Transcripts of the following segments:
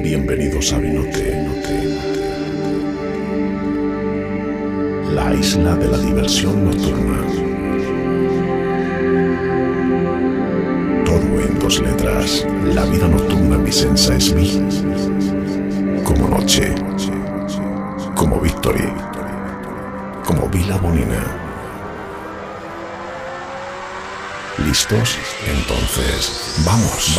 Bienvenidos a Vinote, la isla de la diversión nocturna. Todo en 2 letras. La vida nocturna vicenza es vi. Como noche, como Victory, como Vila Bonina. ¿Listos? Entonces, vamos.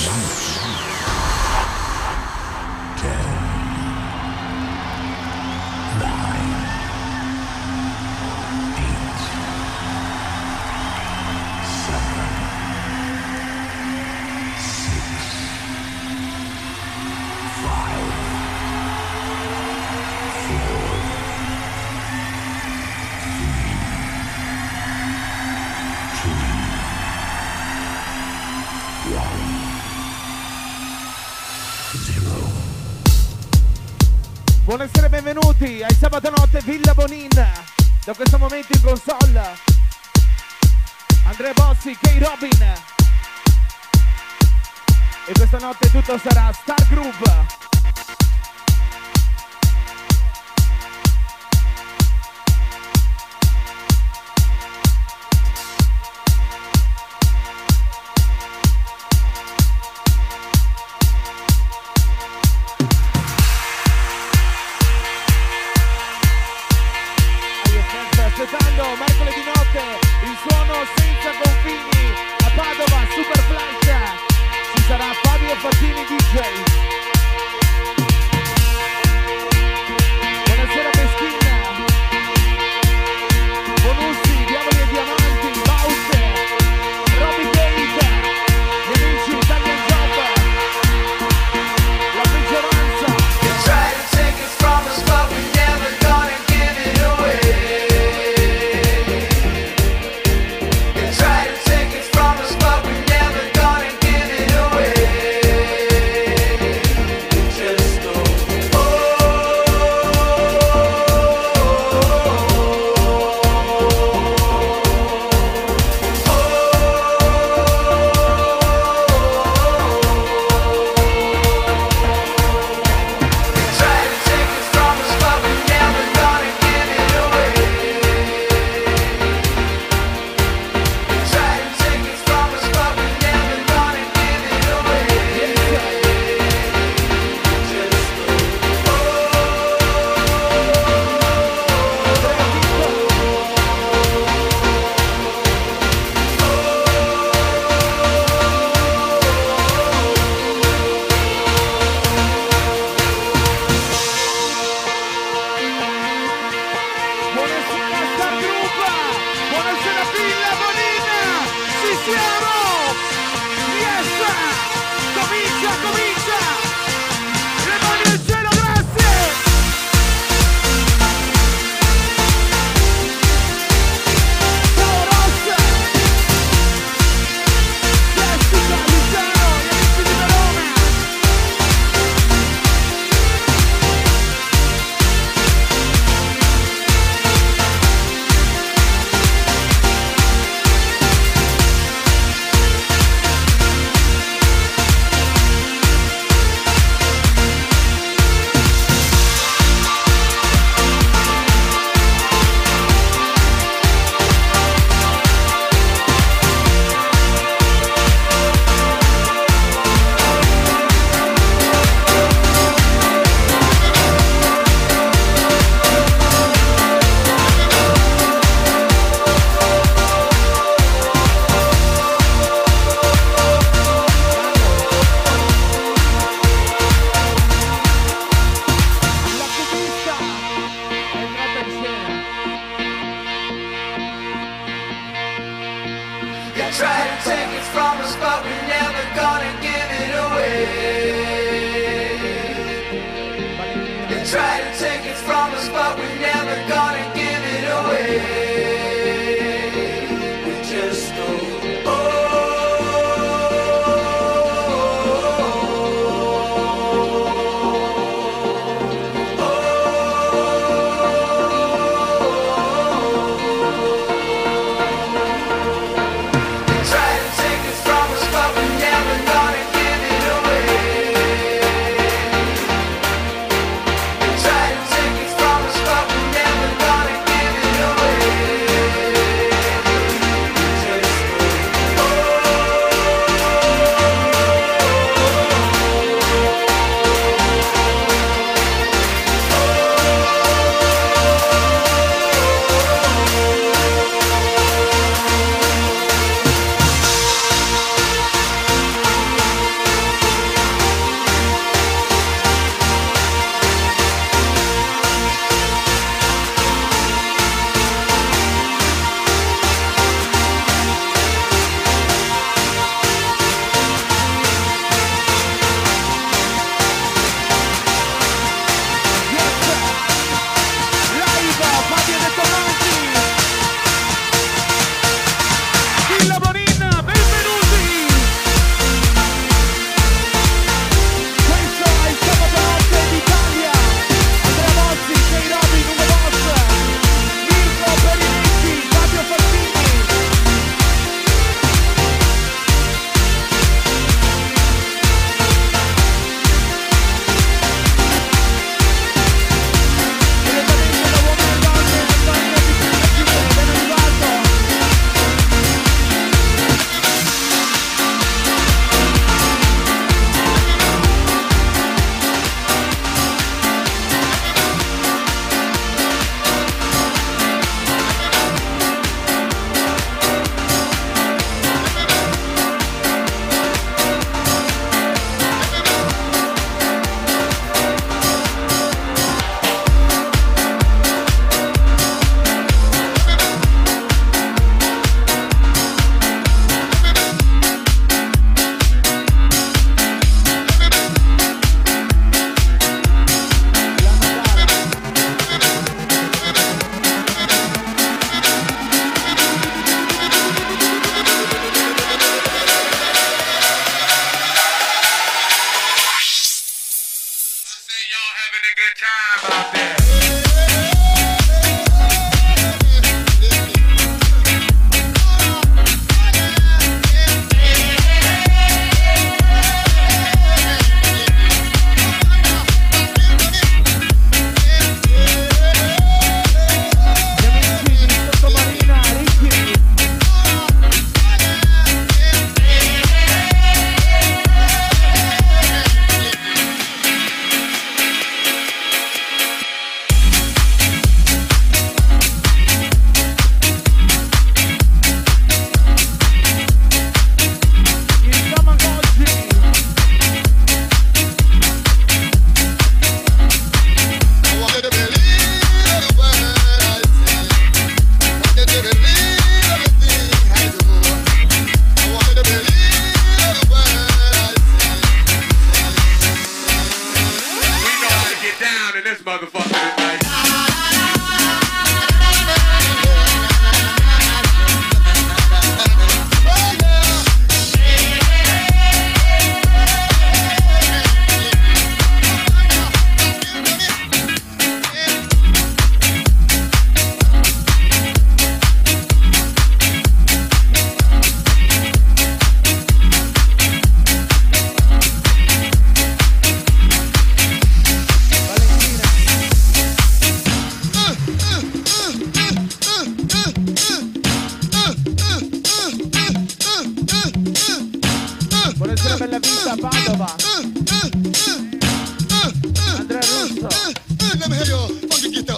Buonasera e benvenuti ai sabato notte Villa Bonina. Da questo momento in console Andrea Bossi, K. Robin. E questa notte tutto sarà Star Groove. Mercoledì notte, il suono senza confini a Padova, Super Flash. Ci sarà Fabio Fattini DJ. Buonasera Meschina, Bonussi, Diavoli e Diamanti, Bowser, Roby Gate, gli amici Italian Job, la maggioranza. Buonasera Bella Vita, Padova. Andrea Russo. Let me hear your funky guitar.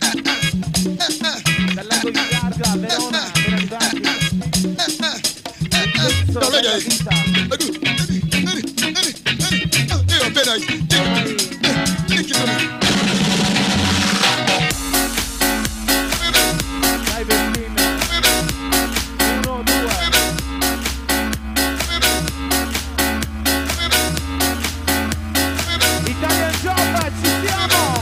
Dal lago di Garda, Verona, ben arrivati. No, Bella ladies. Vita. Yeah, very nice. Thank you. Dai Bettina. 1, 2. Italian Job, ci siamo!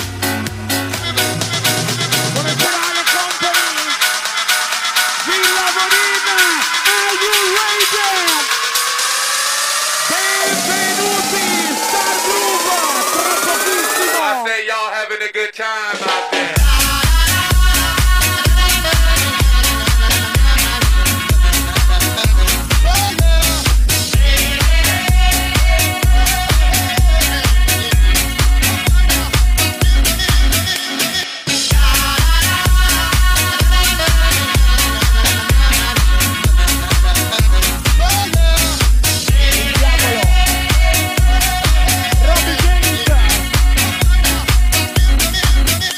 Buonasera alle company! Villa Bonina, are you ready? Benvenuti, Star Groove, tra pochissimo! I say y'all having a good time out there. Robbie James!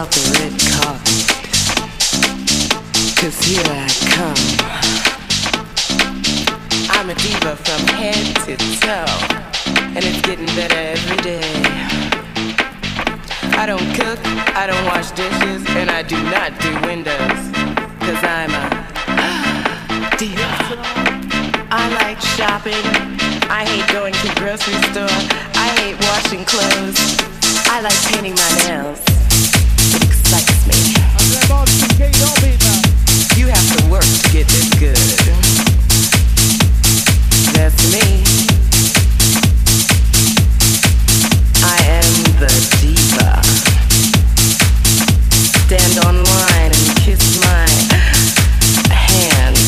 off the red carpet, 'cause here I come. I'm a diva from head to toe, and it's getting better every day. I don't cook, I don't wash dishes, and I do not do windows, 'cause I'm a diva. I like shopping, I hate going to the grocery store, I hate washing clothes, I like painting my nails. It excites me. You have to work to get this good. That's me. I am the diva. Stand online and kiss my hand.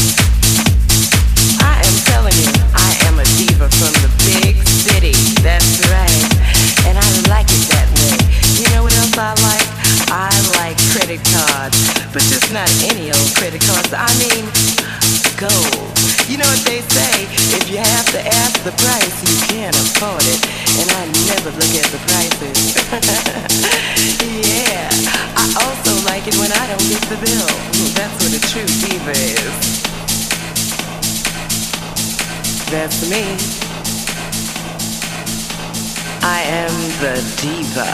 I am telling you, I am a diva from the big city. That's right. And I like it that way. You know what else I like? I like credit cards, but just not any old credit cards. I mean, gold. You know what they say, if you have to ask the price, you can't afford it. And I never look at the prices. Yeah, I also like it when I don't get the bill. That's what a true diva is. That's me. I am the diva.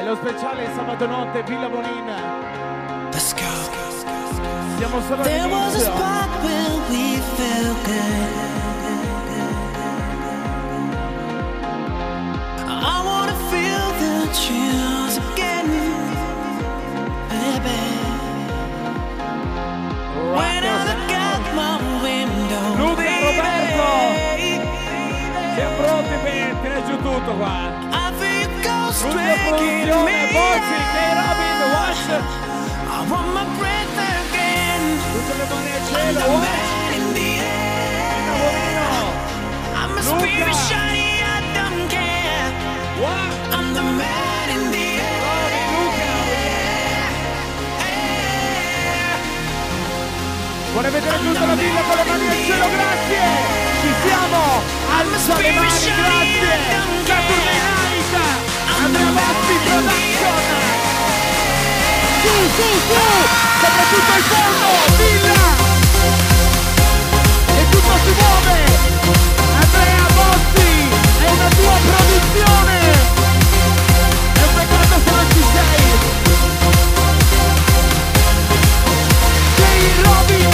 lo speciale sabato notte Villa Bonin. Let's go. Siamo solo There was a all'inizio. spot where we felt good. I wanna feel the chills again, baby. When I look out my window, Luca, baby, Roberto, siamo pronti per tirare giù tutto qua. I feel you go Luca striking Produzione, me. Bozzi, K-Robin, Watch. I want my breath again. Tutte le mani al I'm cielo, the Watch. man in the air. Tavolino, I'm a Luca. spirit shiny, I don't care. Watch. I'm the man in the air. Luca. Vorrei vedere tutta la villa con le mani al cielo, grazie. Ci siamo. Alza le mani, grazie. Saturday Night. Andrea Basti Production. Su, soprattutto il fondo, villa. E tutto si muove. Andrea Basti, è una tua produzione. È un peccato se non ci sei. K-Robin.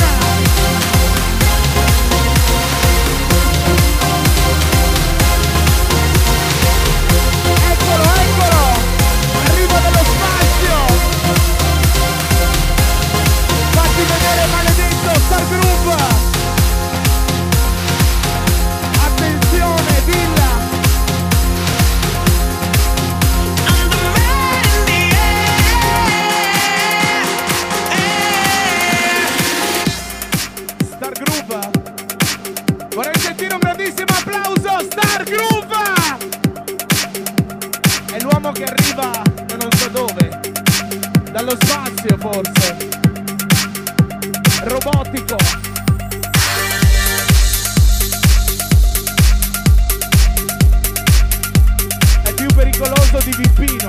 Eccolo, arriva dallo spazio. Fatti vedere, maledetto Star Group. Attenzione, Villa. I'm the man in the air. Star Group. Vorrei sentire un grandissimo applauso, Star Group. È l'uomo che arriva da non so dove, dallo spazio forse, robotico. È più pericoloso di Vippino.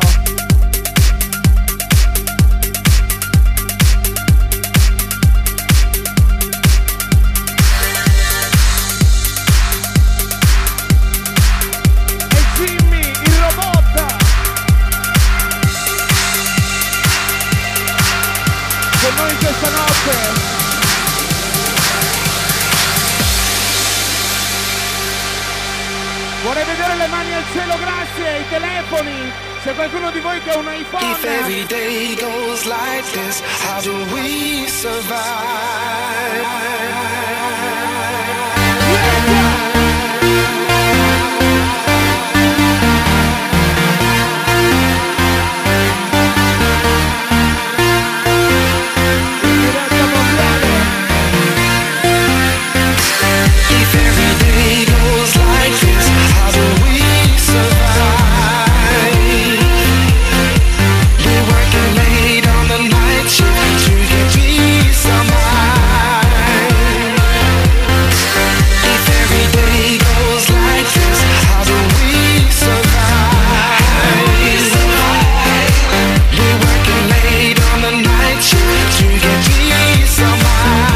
E Jimmy, il robot. Con noi questa notte. Vorrei vedere le mani al cielo, grazie, i telefoni. C'è qualcuno di voi che ha un iPhone? If every day goes like this, how do we survive? If every day goes like this, how do we survive? We're working late on the night shift to get peace of mind. If every day goes like this, how do we survive? We're working late on the night shift to get peace of mind.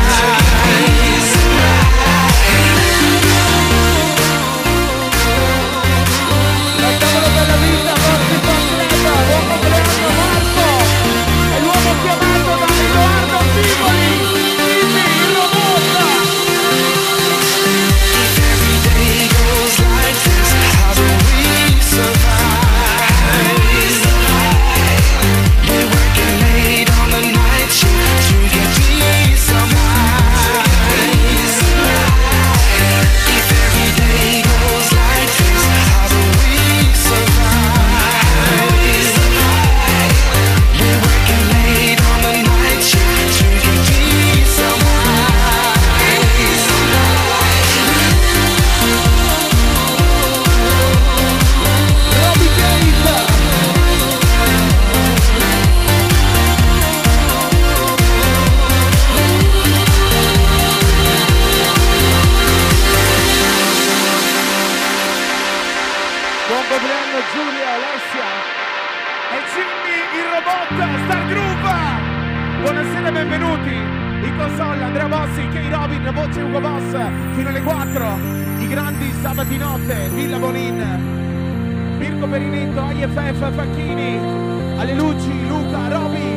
La tavola della vita, Basti Completa, buon compleanno Marco, è l'uomo chiamato da Edoardo Tivoli, Jimmy, il robot. If every day goes like this, how do we survive? We're working late on the night shift to get peace of mind. If every day goes like this, how do we survive? We're working late on the night shift to get peace of mind. Roby Gate. Buon compleanno Giulia, Alessia e Jimmy, il robot, Star Group. Buonasera e benvenuti. In console Andrea Bossi, K-Robin, voce Ugo Boss, fino alle 4. I grandi sabati notte, Villa Bonin, Mirko Perinetto, IFF Facchini, alle luci, Luca, Roby,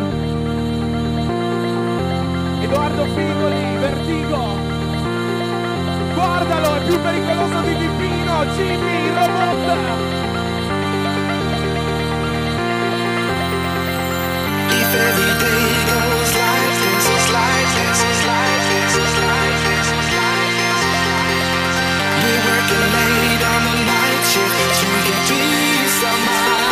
Edoardo Figoli, Vertigo. Guardalo, è più pericoloso di Pipino, Jimmy, il robot. If every day goes like this, it's like this, it's like this, it's like this, it's like this, it's like this. We're working late on the night shift to get peace of mind.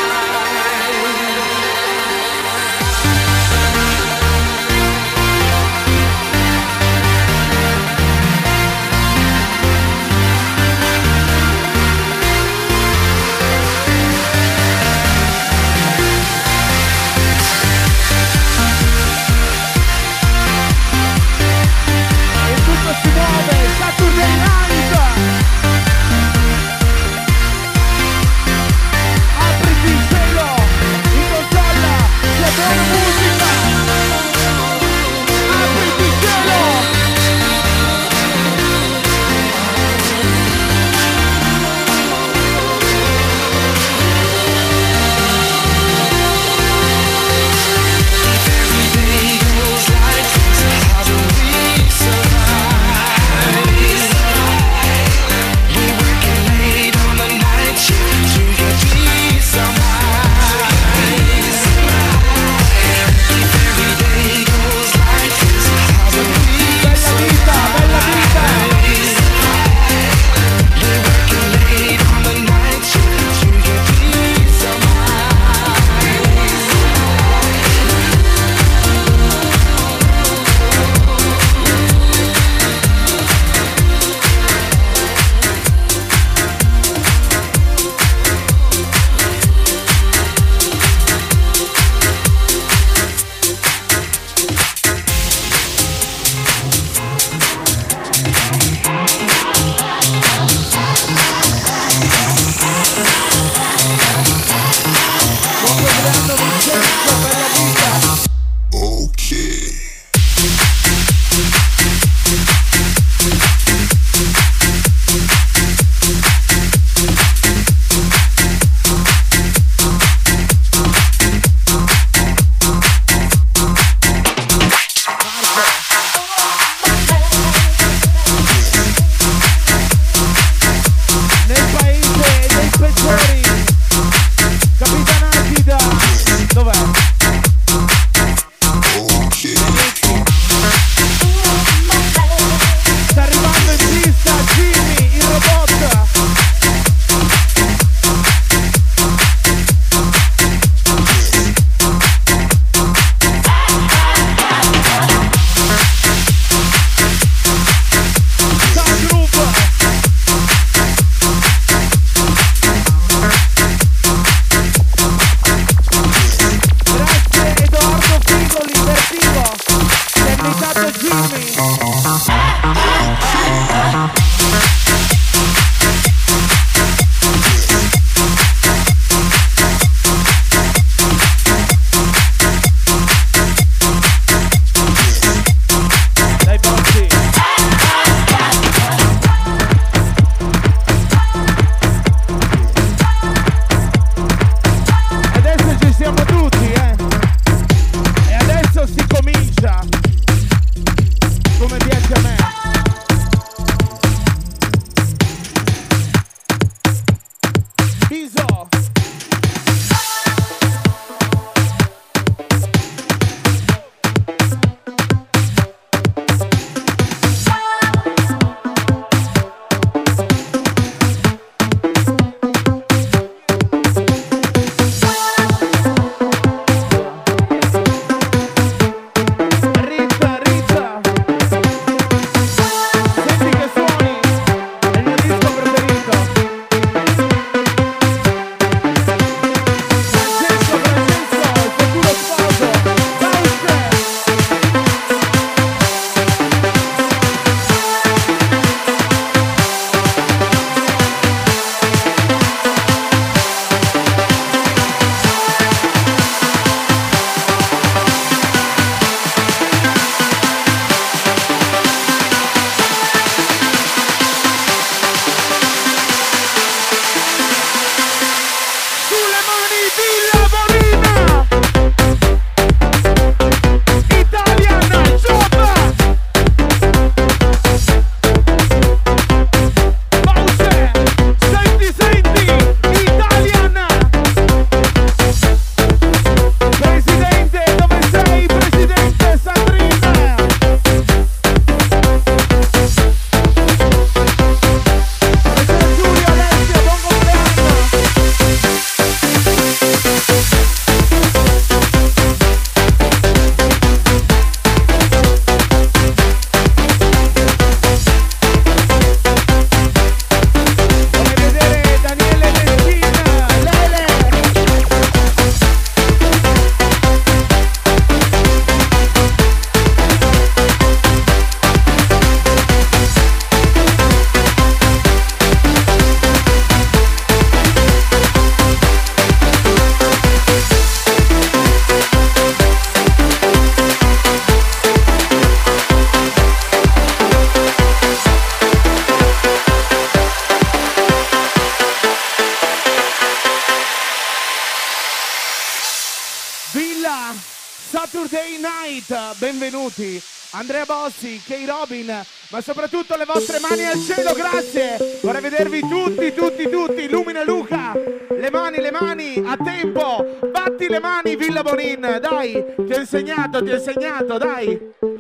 Saturday Night, benvenuti Andrea Bossi, Kay Robin, ma soprattutto le vostre mani al cielo, grazie. Vorrei vedervi tutti, Lumina Luca, le mani, a tempo, batti le mani Villa Bonin, dai, ti ho insegnato, dai.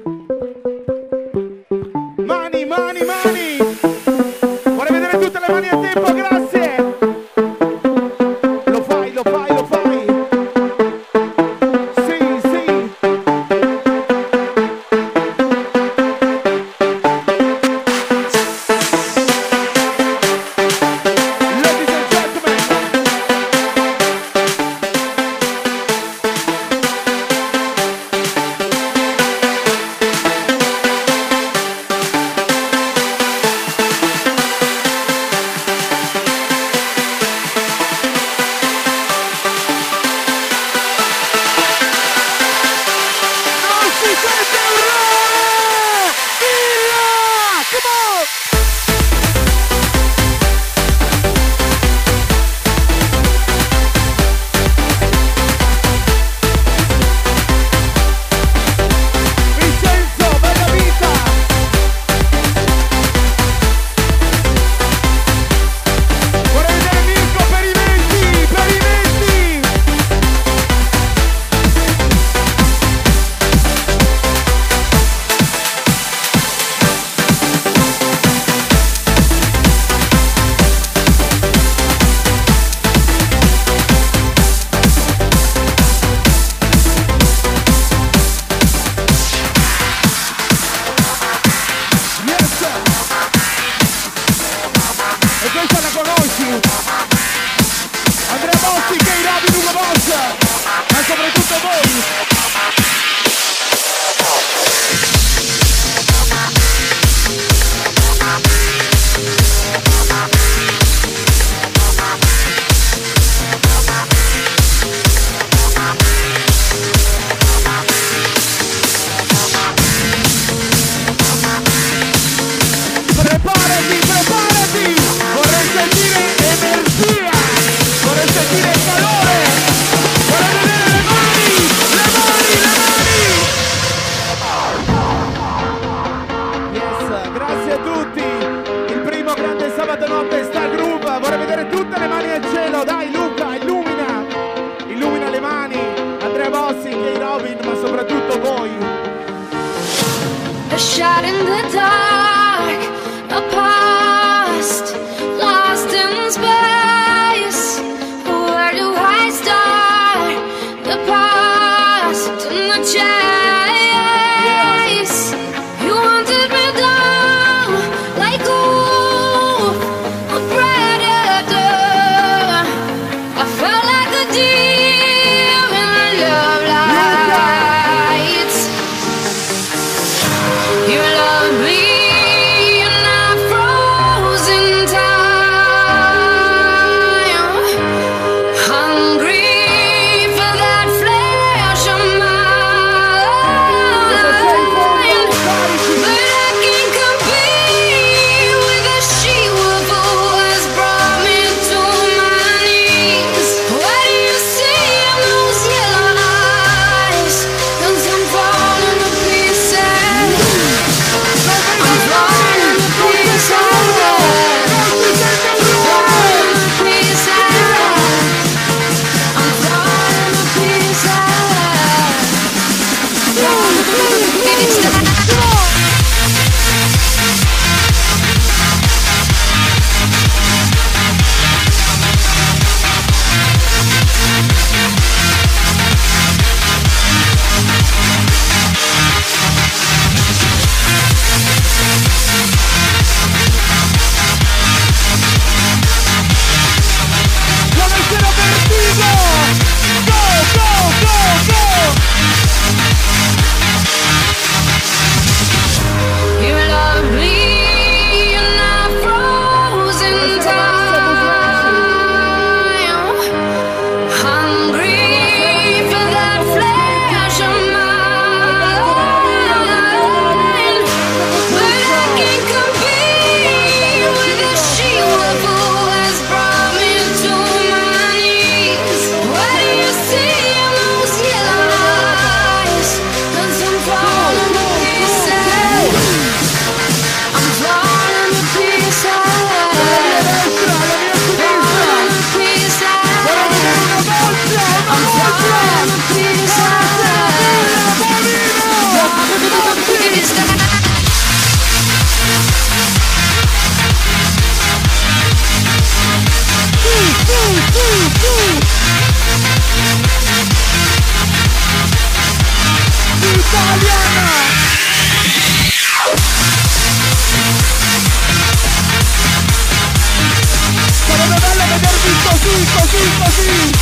Mani, vorrei vedere tutte le mani a tempo, grazie. Lo fai. You love me. così, così, così.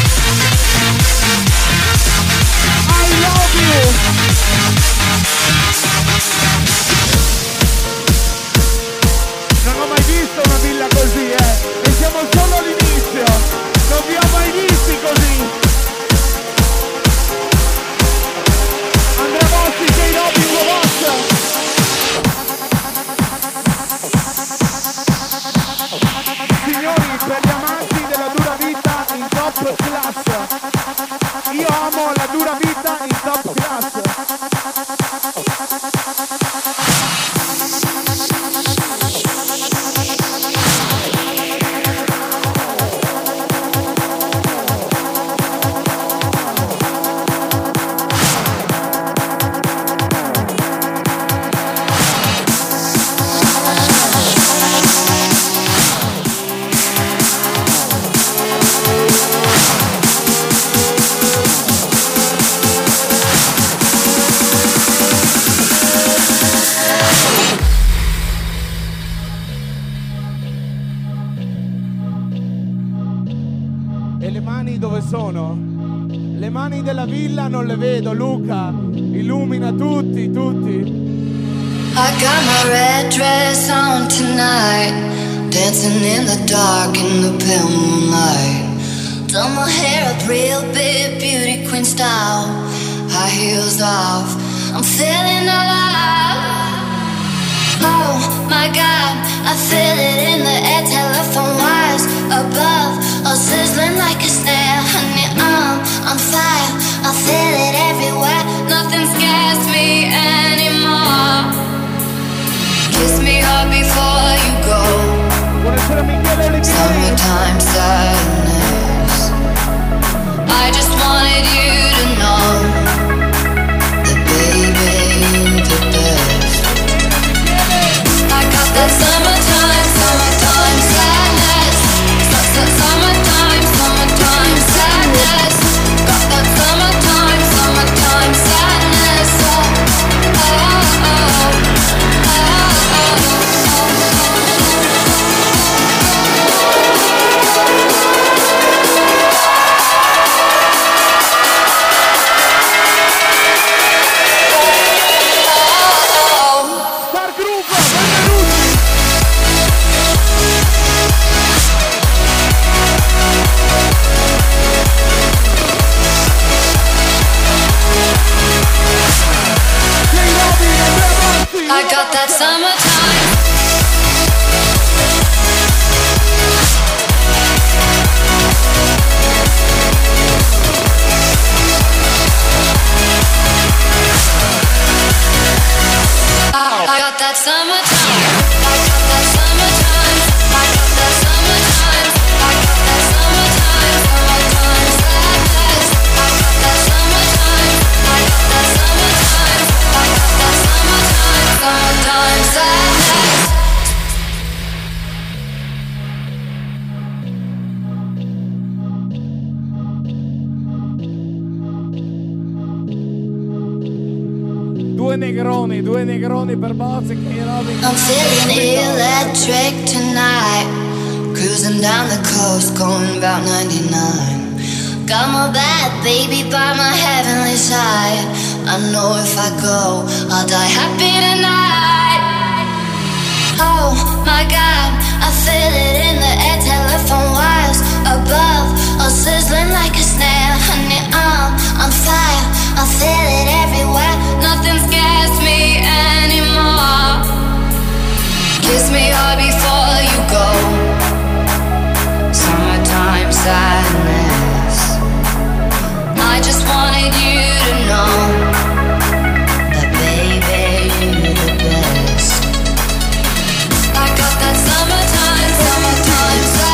I love you. Non ho mai visto una villa così, e siamo solo all'inizio. Non vi ho mai visti così. Andrea Bossi, K-Robin, Boss. Signori, per gli amanti della dura vita in top class, io amo la dura vita in top class. Sono? Le mani della villa non le vedo, Luca, illumina tutti, tutti. I got my red dress on tonight, dancing in the dark in the pale moonlight. Done my hair up real big, beauty queen style, high heels off, I'm feeling alive. Oh my God, I feel it in the air, telephone wires above, all sizzling like a snare. Honey, I'm on fire, I feel it everywhere, nothing scares me anymore. Kiss me hard before you go. Summertime sadness, I just wanted you to know that baby, you're the best. I got that summertime, summertime sadness. Summertime, summertime sadness. Got that summertime, summertime sadness. Oh, oh, oh, I got that summertime. I got that summertime. I got that summertime. I got that summertime. I got that summertime. Summertime sadness. I got that summertime. I got that summertime. I got that summertime. Summertime sadness. Due negroni per Boss e K-Robin. I'm feeling electric tonight, cruising down the coast, going about 99. Got my bad baby by my heavenly side. I know if I go, I'll die happy tonight. Oh my God, I feel it in the air, telephone wires above, all sizzling like a snare. Honey, I'm on fire, I feel it everywhere, nothing scares me anymore. Kiss me hard before you go. Summertime sadness, I just wanted you to know that baby, you're the best. I got that summertime, summertime sadness.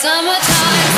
summertime.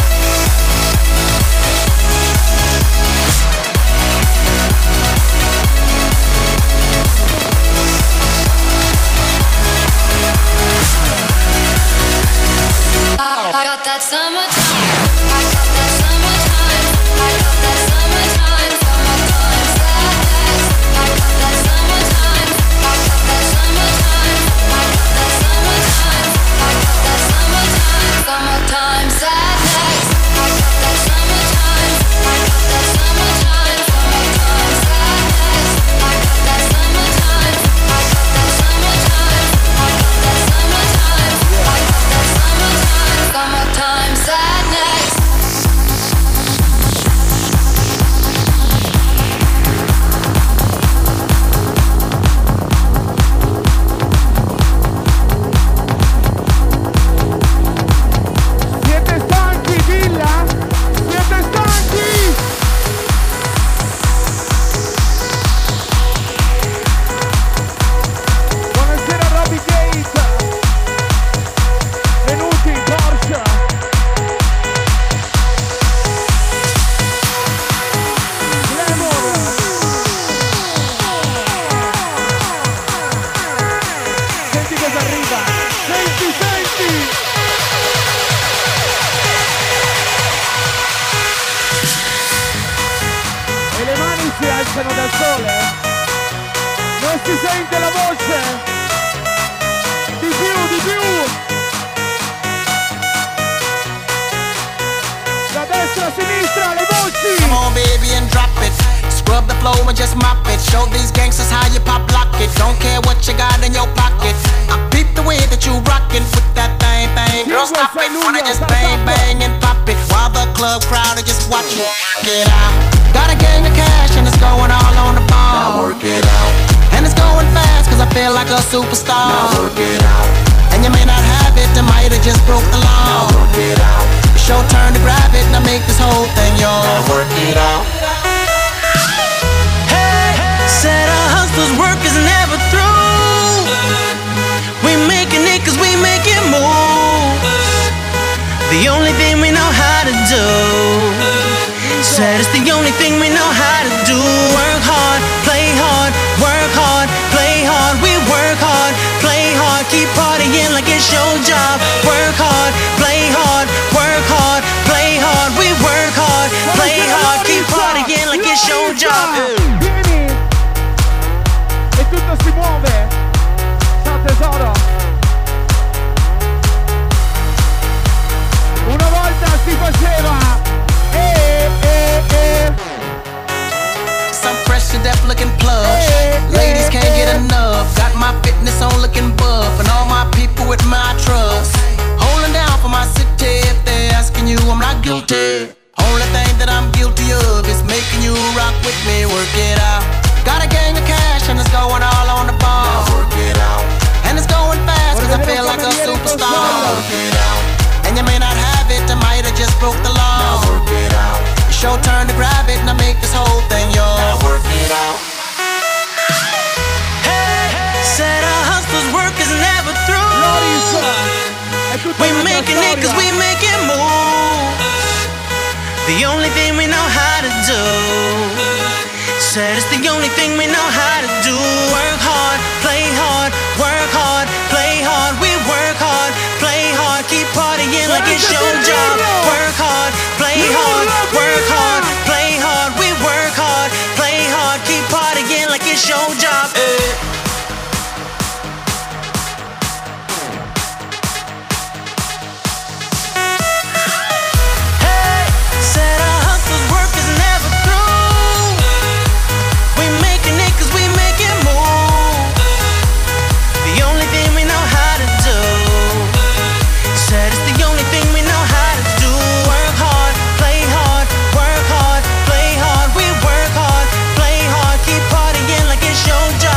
I got that summertime. I got that summertime. I got that summertime. Summertime sadness. I got that summertime. I got that summertime. I got that summertime. I got that summertime. Summertime sadness. I got that summertime. I got that summertime. Summertime sadness. I got that summertime. I got that summertime. I got that summertime. I got that summertime. Summertime sadness. Siete stanchi, Villa? Siete stanchi? Buonasera Robbie Gate. Venuti, Porsche. Lemon. Senti cosa arriva. Senti, senti. E le mani si alzano da sole. Non si sente la voce. Di più, di più. Da destra a sinistra, le voci. Come on, baby, and drop it. Scrub the floor and just mop it. Show these gangsters how you pop lock it. Don't care what you got in your pocket. I peep the way that you rockin' with that thing, thing. Girl, stop it. Wanna just bang, bang and pop it. While the club crowd are just watching. Get out. Got a gang of cash and it's going all on the ball. Now work it out. And it's going fast cause I feel like a superstar. Now work it out. And you may not have it, I might have just broke the law. Now work it out. It's your turn to grab it and I make this whole thing yours. Now work it out. Said a hustler's work is never through. We making it cause we make it move. The only thing we know how to do. Said it's the only thing we know how to do. Work hard, play hard, work hard, play hard. We work hard, play hard, keep partying like it's your job. Work hard, play hard, work hard, play hard. We work hard, play hard, keep partying like it's your job. Vieni. E tutto si muove. Ciao tesoro. Una volta si faceva. Some fresh to death looking plush. Ladies can't get enough. Got my fitness on looking buff. And all my people with my trust. Holding down for my city. If they're asking you, I'm not guilty. Only thing that I'm guilty of is making you rock with me. Work it out. Got a gang of cash and it's going all on the ball. Now work it out. And it's going fast cause I feel like a superstar. Now work it out. And you may not have it, I might have just broke the law. Now work it out. It's your turn to grab it and I make this whole thing yours. Now work it out. Said a hustler's work is never through. We making it cause we make it move. The only thing we know how to do. Said it's the only thing we know how to do. Work hard, play hard, work hard, play hard. We work hard, play hard, keep partying like it's your job. Work hard, play hard, work hard, play hard. We work hard, play hard, keep partying like it's your job. Said a hustler's work is never through. We making it cause we make it move. The only thing we know how to do. Said it's the only thing we know how to do. Work hard, play hard, work hard, play hard. We work hard, play hard, keep partying like it's your job.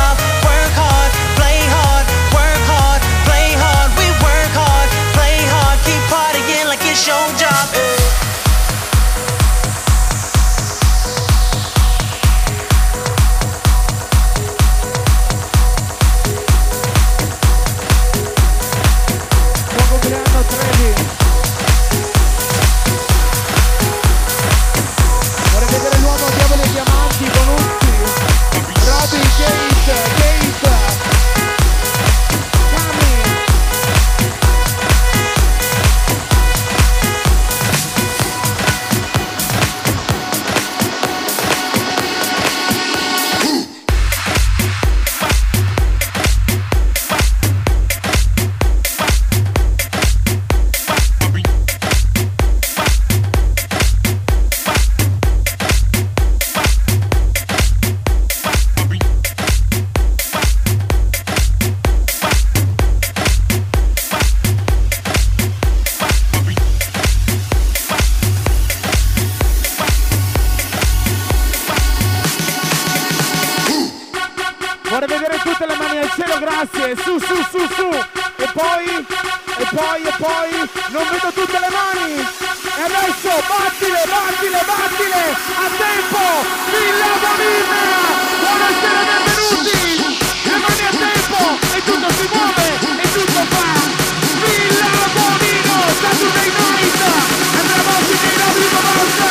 cielo, grazie, su, e poi, non vedo tutte le mani, e adesso, battile, a tempo, Villa Bonina, buonasera, benvenuti, le mani a tempo, e tutto si muove, e tutto fa, Villa Bonino, Saturday Night, Andrea Bossi, Nino Vivo Basta,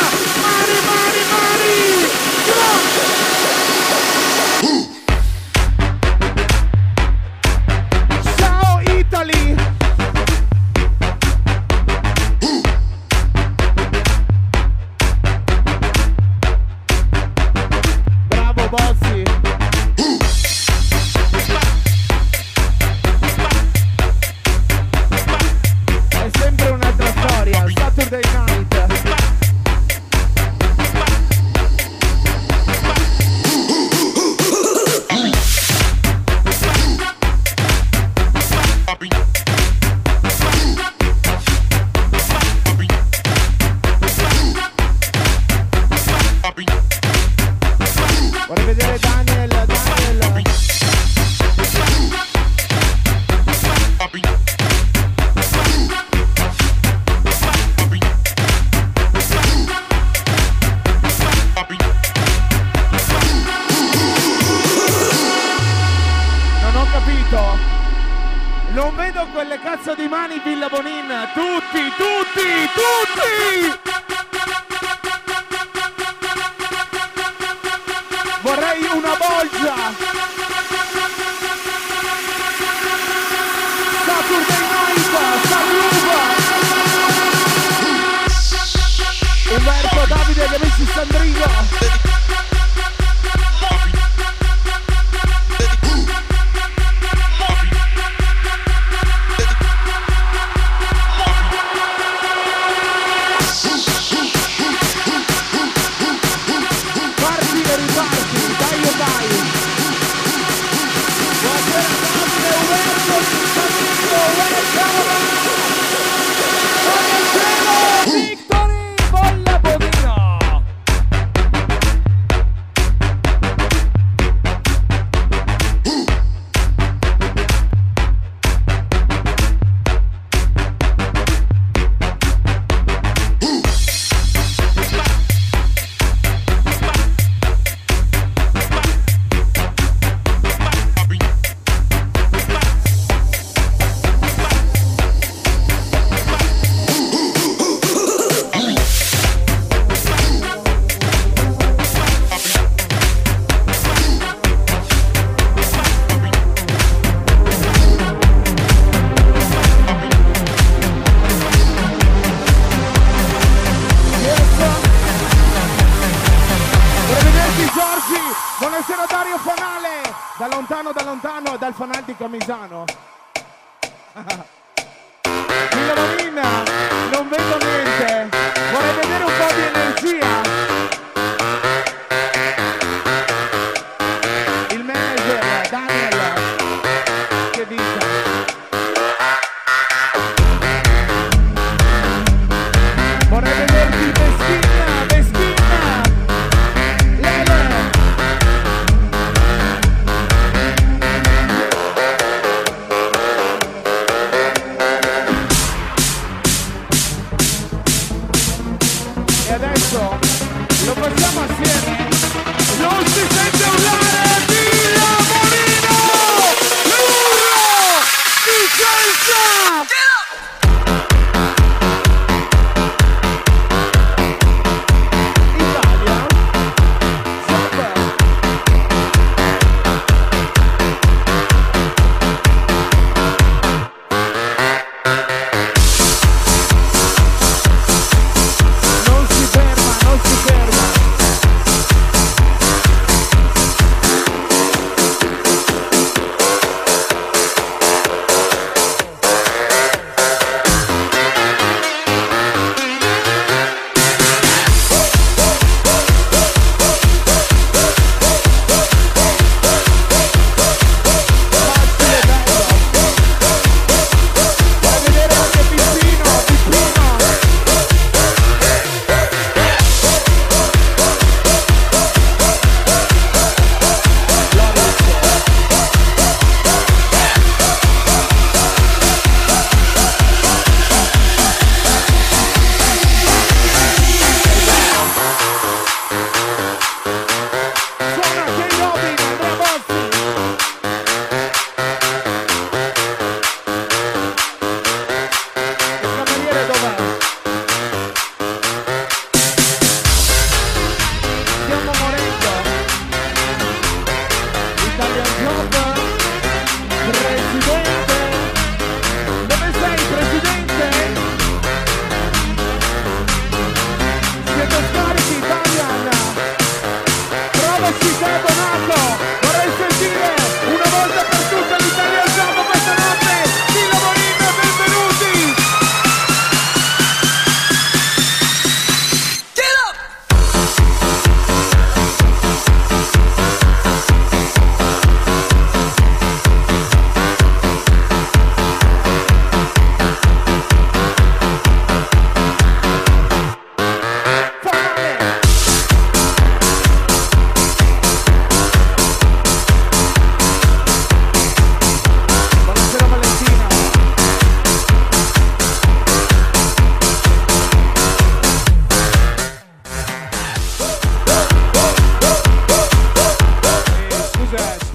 mani, ciao Italy! Bravo Bossi! È sempre un'altra storia, Saturday Night! Vorrei vedere Daniel. Non ho capito. Non vedo quelle cazzo di mani Villa Bonin. Tutti. Vorrei una bolgia! Saturday Night! Saluva! Umberto, Davide e gli amici Sandrillo! Victory Bolla Bonino! Buonasera Dario Fanale, da lontano, dal Fanal di Camisano. Villa Bonina, non vedo niente, vorrei vedere un po' di energia. Il manager, Daniel, che dice? Vorrei vederti Veschina, Lele. E adesso lo facciamo assieme. Non si sente urlare Villa Bonino! L'urlo di Senza! Non si ferma.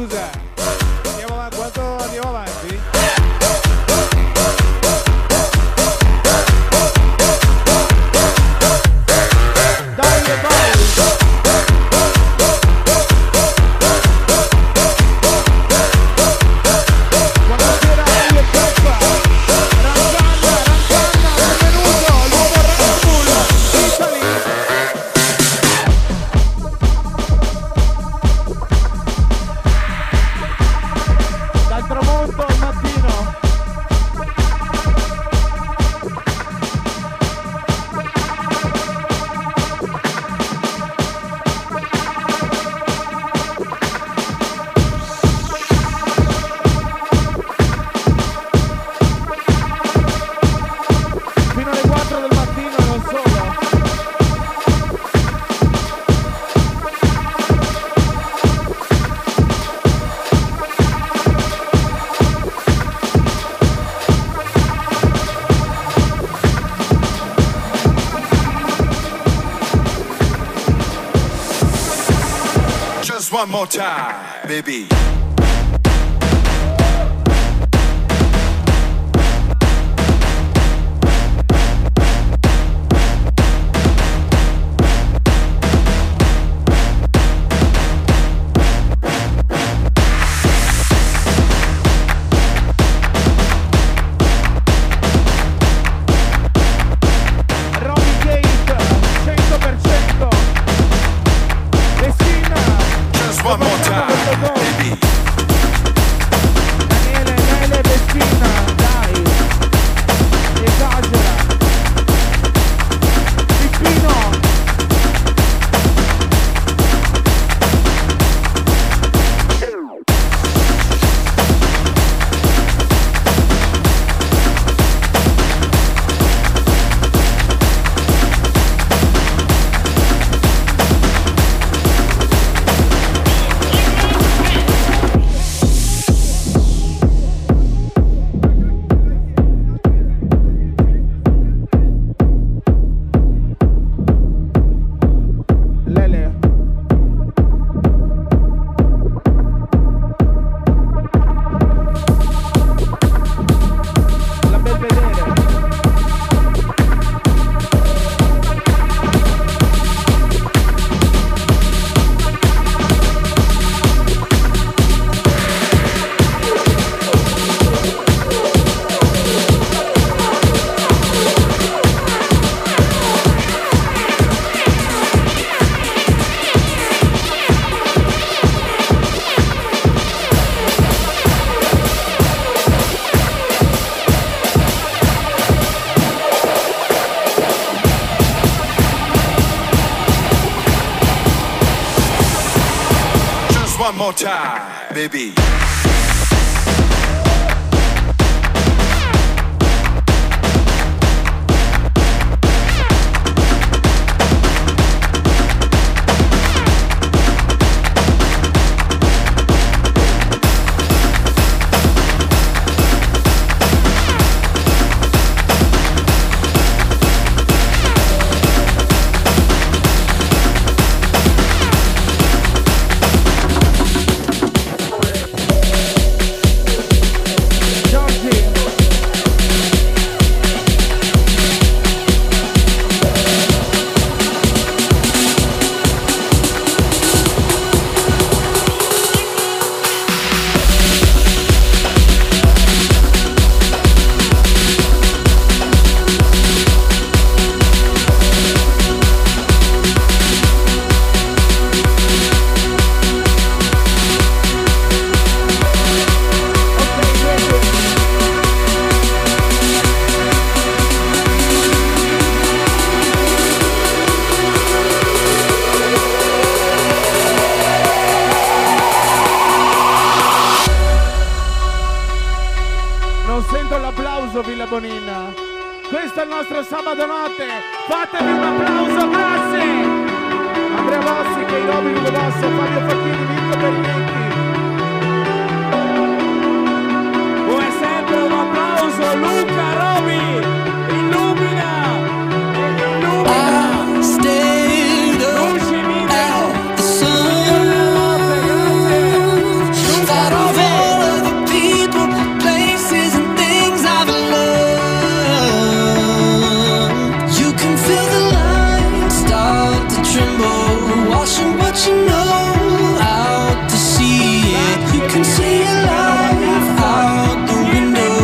Cos'è? Andiamo avanti, quanto andiamo avanti? Dai, vai! Buonasera, io Peppa! Ranzanna, benvenuto! L'uomo Red Bull, Italy! Dal tramonto al mattino. Fino alle 4 del mattino e non solo. Just one more time, baby. Robbie Gate, 100%. Messina. Just one more time, baby. Daniele, Nele, Messina, dai. Esagera. Pippino. Lele. La Belvedere. Just one more time, baby. Non sento l'applauso, Villa Bonina. Questo è il nostro sabato notte. Fatevi un applauso, grazie. Andrea Bossi, che i Robi, Lugo Bosso, Fabio Facchini, Mirko Perinetti. Come sempre un applauso, Luca Robi. Illumina. Luci, Mine. watching what you know out to sea. Yeah, you can see your life out the window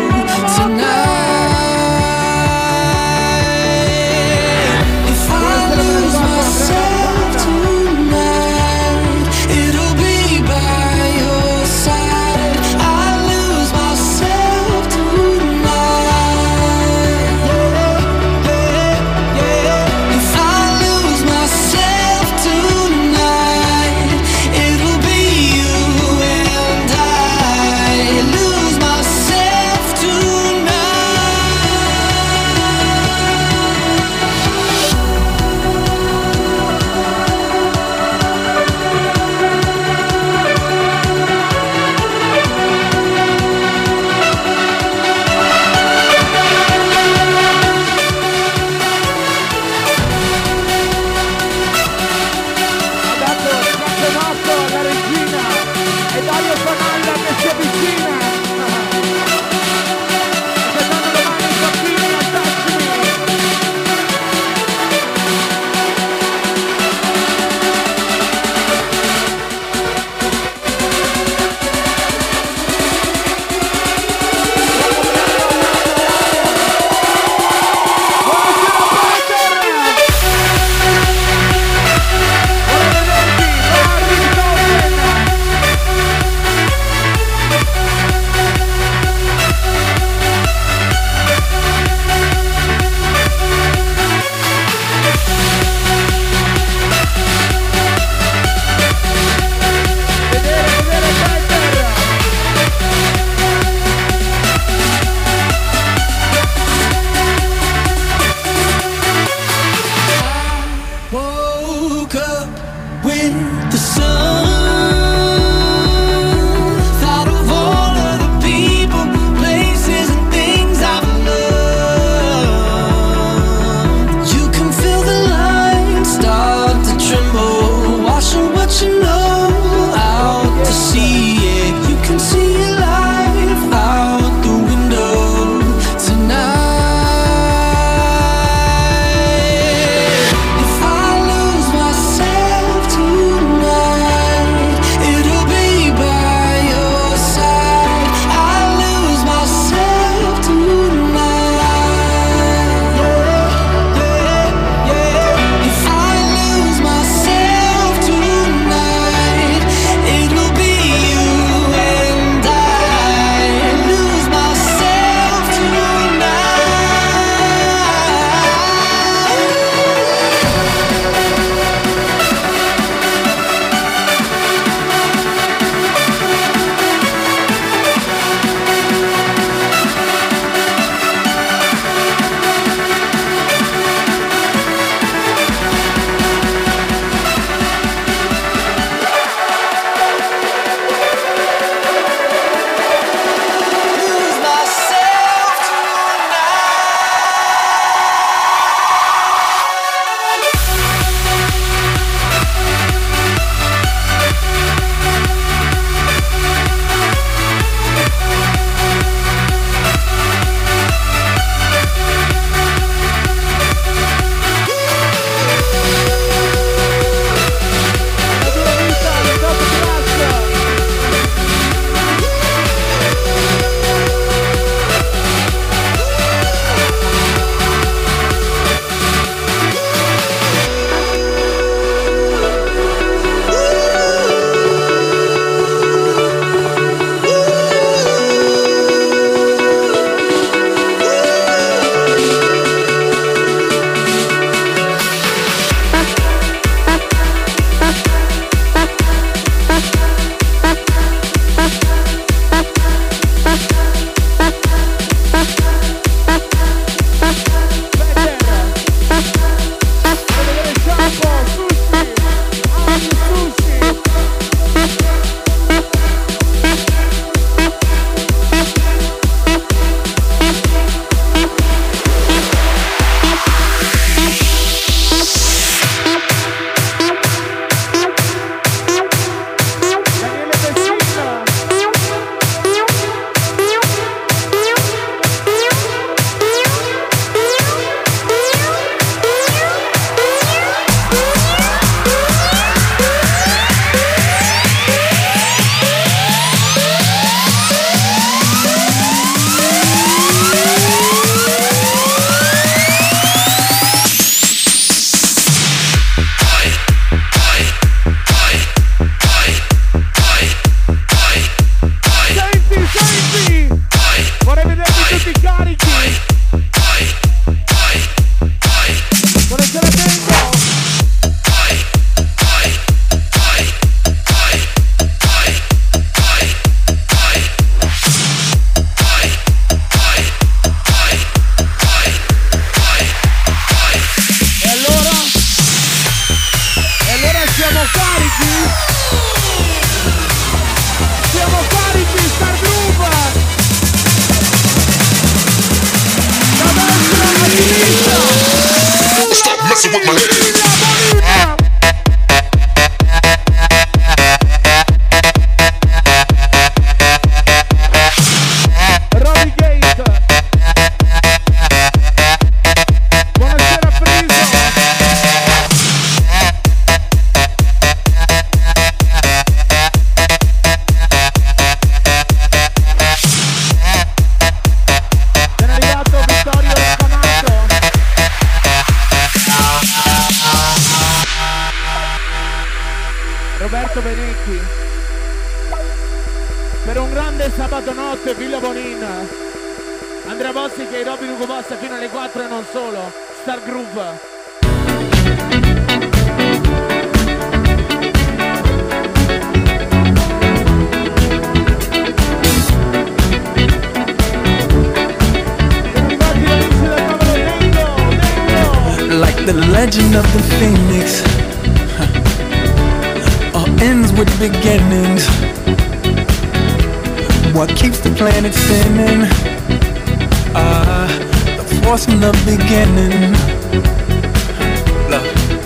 tonight. If I lose myself tonight, it'll be by your side. I lose myself tonight. If I lose myself tonight, it'll be you and I. Lose myself tonight. Ha dato il campionato alla regina e Dario Fanalla che si avvicina. Che danno le mani ai bambini altissimi. Woke up with the sun. Thought of all of the people, places, and things I've loved. You can feel the lines start to tremble, washing what you know out to sea. Yeah, you can see your life out the window tonight. If I lose myself tonight, carichi? Siamo carichi, Star Groove! Da destra a sinistra! Stop messing with my head. Per un grande sabato notte, Villa Bonin, Andrea Bossi che Robin Ugo Bossa fino alle 4 e non solo, Star Groove. Like the legend of the phoenix, all ends with beginnings. What keeps the planet spinning? The force from the beginning. Look.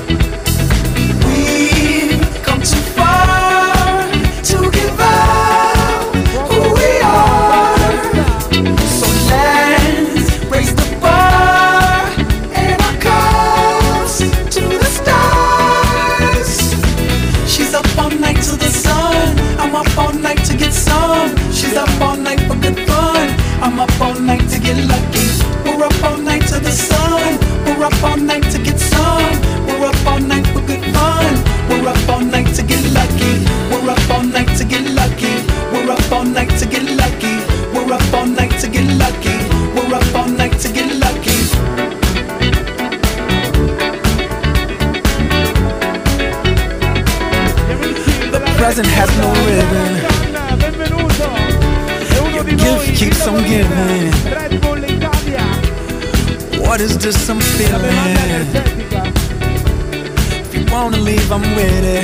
We've come too far to give up who we are. So let's raise the bar and our cups to the stars. She's up all night to the sun. I'm up all night to get some. She's up all night for good fun. I'm up all night to get lucky. We're up all night to the sun. We're up all night to get some. We're up all night for good fun. We're up all night to get lucky. We're up all night to get lucky. We're up all night to get lucky. We're up all night to get lucky. We're up all night to get lucky. The present has no ribbon. Your gift keeps on giving. What is this I'm feeling? If you wanna leave, I'm with it.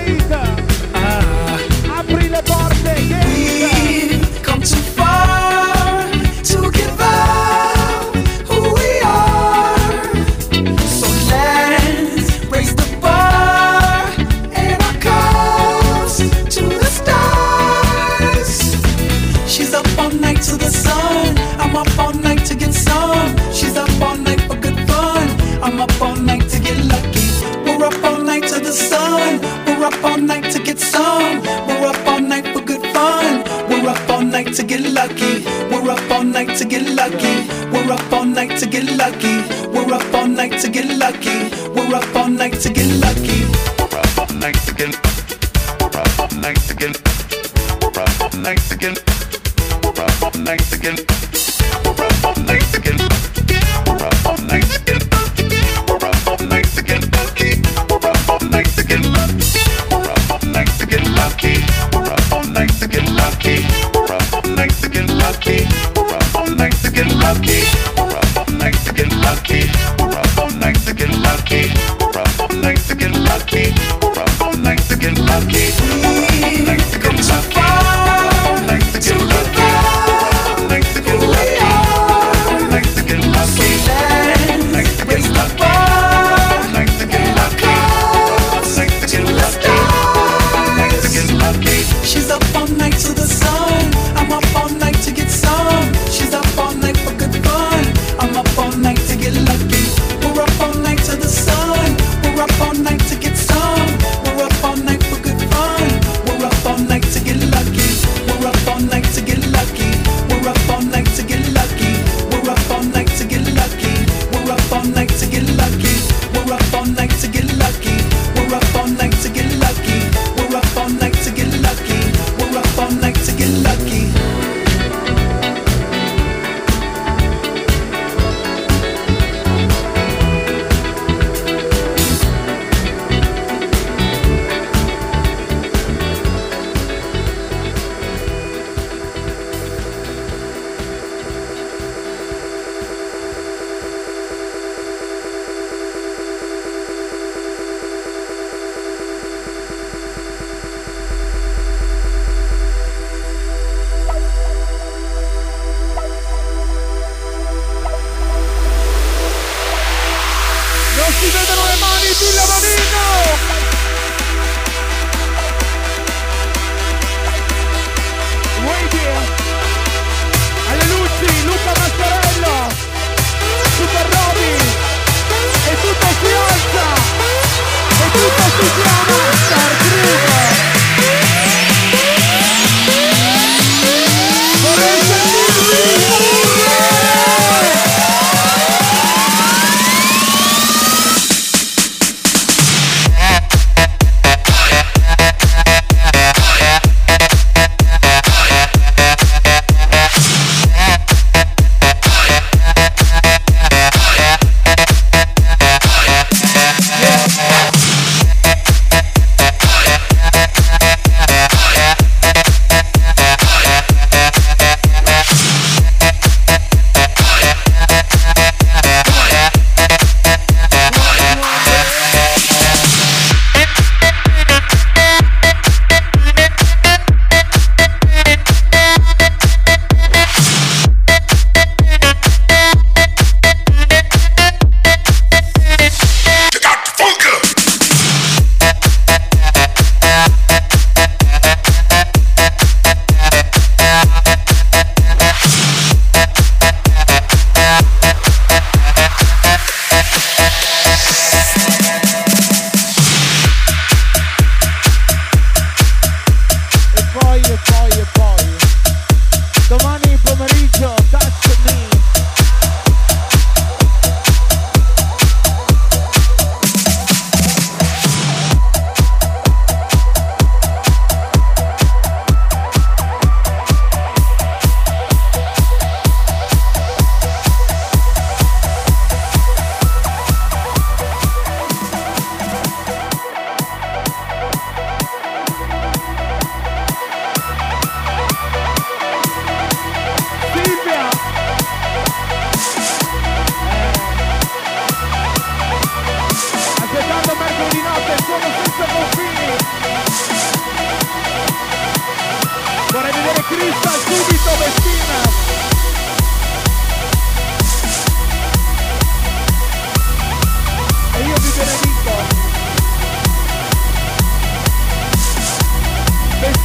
We've come too far to give up who we are. So let's raise the bar and our cups to the stars. She's up all night to the sun. I'm up all night to get some. She's up all night for good fun. I'm up all night to get lucky. We're up all night to the sun. We're up all night to get some. We're up all night for good fun. We're up all night to get lucky. We're up all night to get lucky. We're up all night to get lucky. We're up all night to get lucky. We're up all night to get lucky. We're up all night to get. We're up all night to get. We're up all night to get. We're up all night to get. We're up all night to get. We're up all night to get. We're up all night to get lucky. We're up all night to get lucky. We're up all night to get lucky. We're up all night to get lucky. We're up all night to get lucky. We're up all night to get lucky. We're up all night to get lucky. We're up all night to get lucky. We're up all night to get lucky. We're up all night to get lucky. We've come too far to give up. Night to get lucky. Night to get lucky. Night to raise the bar. Night to get lucky. Night to get lucky. Night to get lucky. She's up all night to the sun. I'm up all night to get some. She's up all night for good fun. I'm up all night to get lucky. We're up all night to the sun. We're up all night to get some. We're up all night for good fun.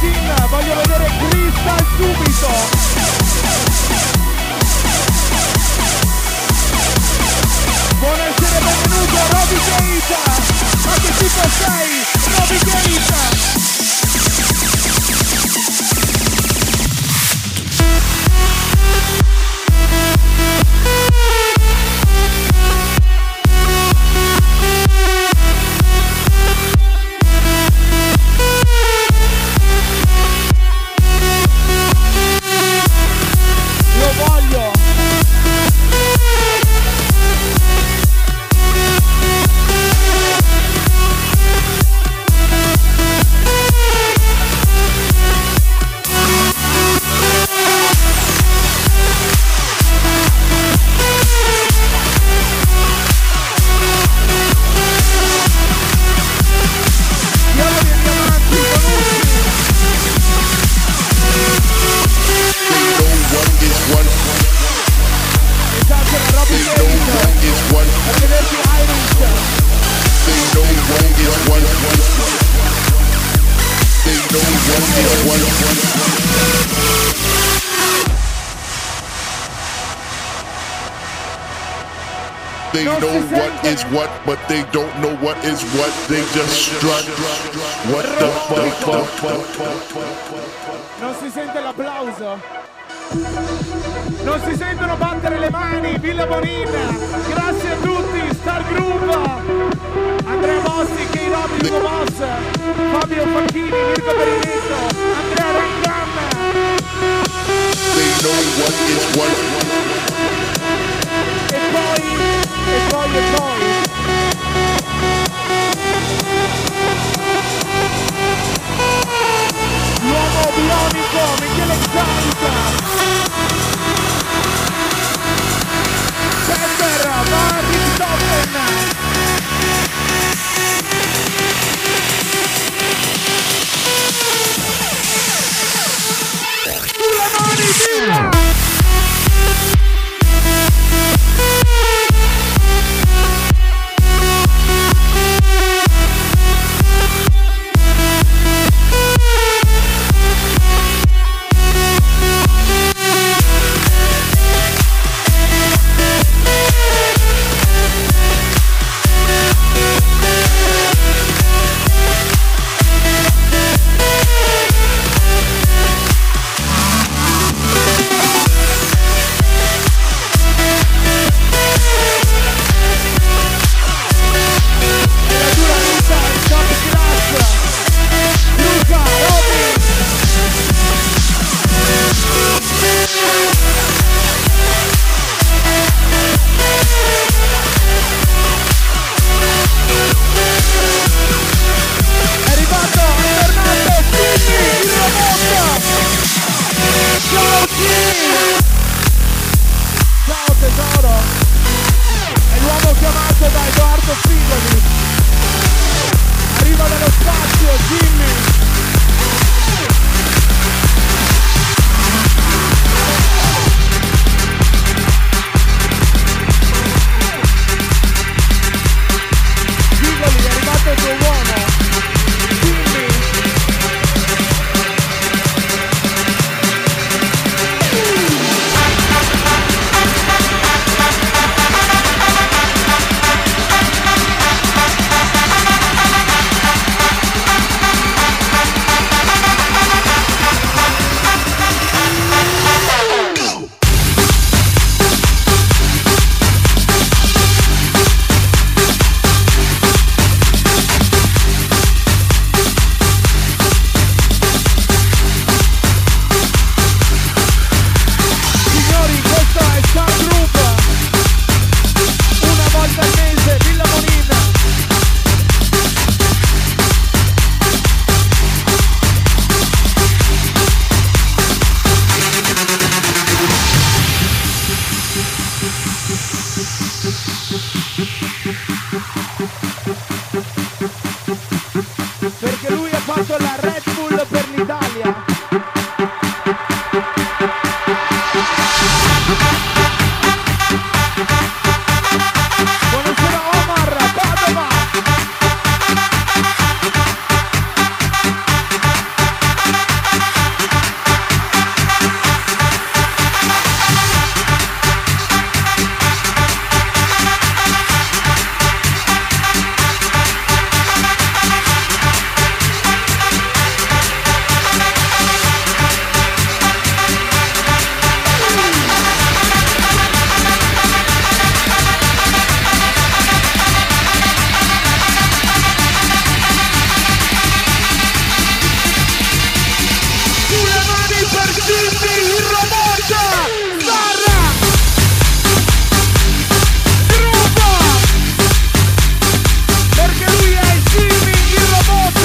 Martin, voglio vedere Crystal subito. Buonasera, benvenuto Roby Gate. Ma che tipo sei? Roby Gate. Lo voglio. They know what is what, but they don't know what is what. They just strut. What the fuck? Non si sente l'applauso? Non si sentono battere le mani? Villa Bonina, grazie a tutti, Star Groove, Andrea Bossi, K-Rob, Hugo Boss, Fabio Facchini, Mirko Berinetto, Andrea Rangam. They know what is what. E poi. L'uomo bionico, Michele Zanca. Pepper, Martin Toppen. Sulle mani, via! il robot Zarra Gruppo, perché lui è Jimmy il robot.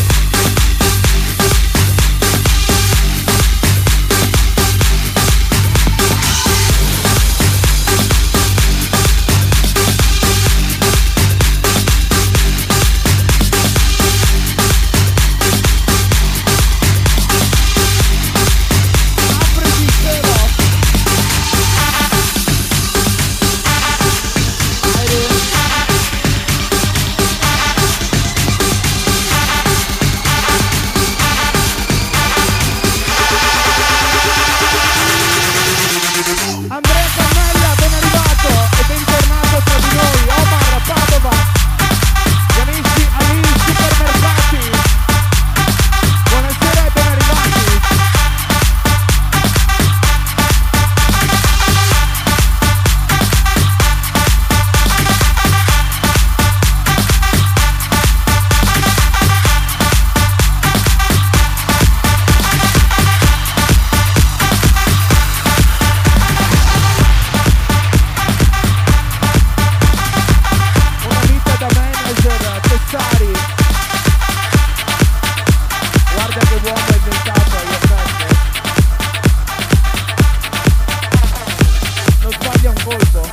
Andrea Cannella, ben arrivato e bentornato tra di noi. Omar Padova, gli amici agli supermercati, buonasera e ben arrivati. Una vita da manager, Tessari. Guarda che uomo è inventato agli effetti. Non sbaglia un colpo.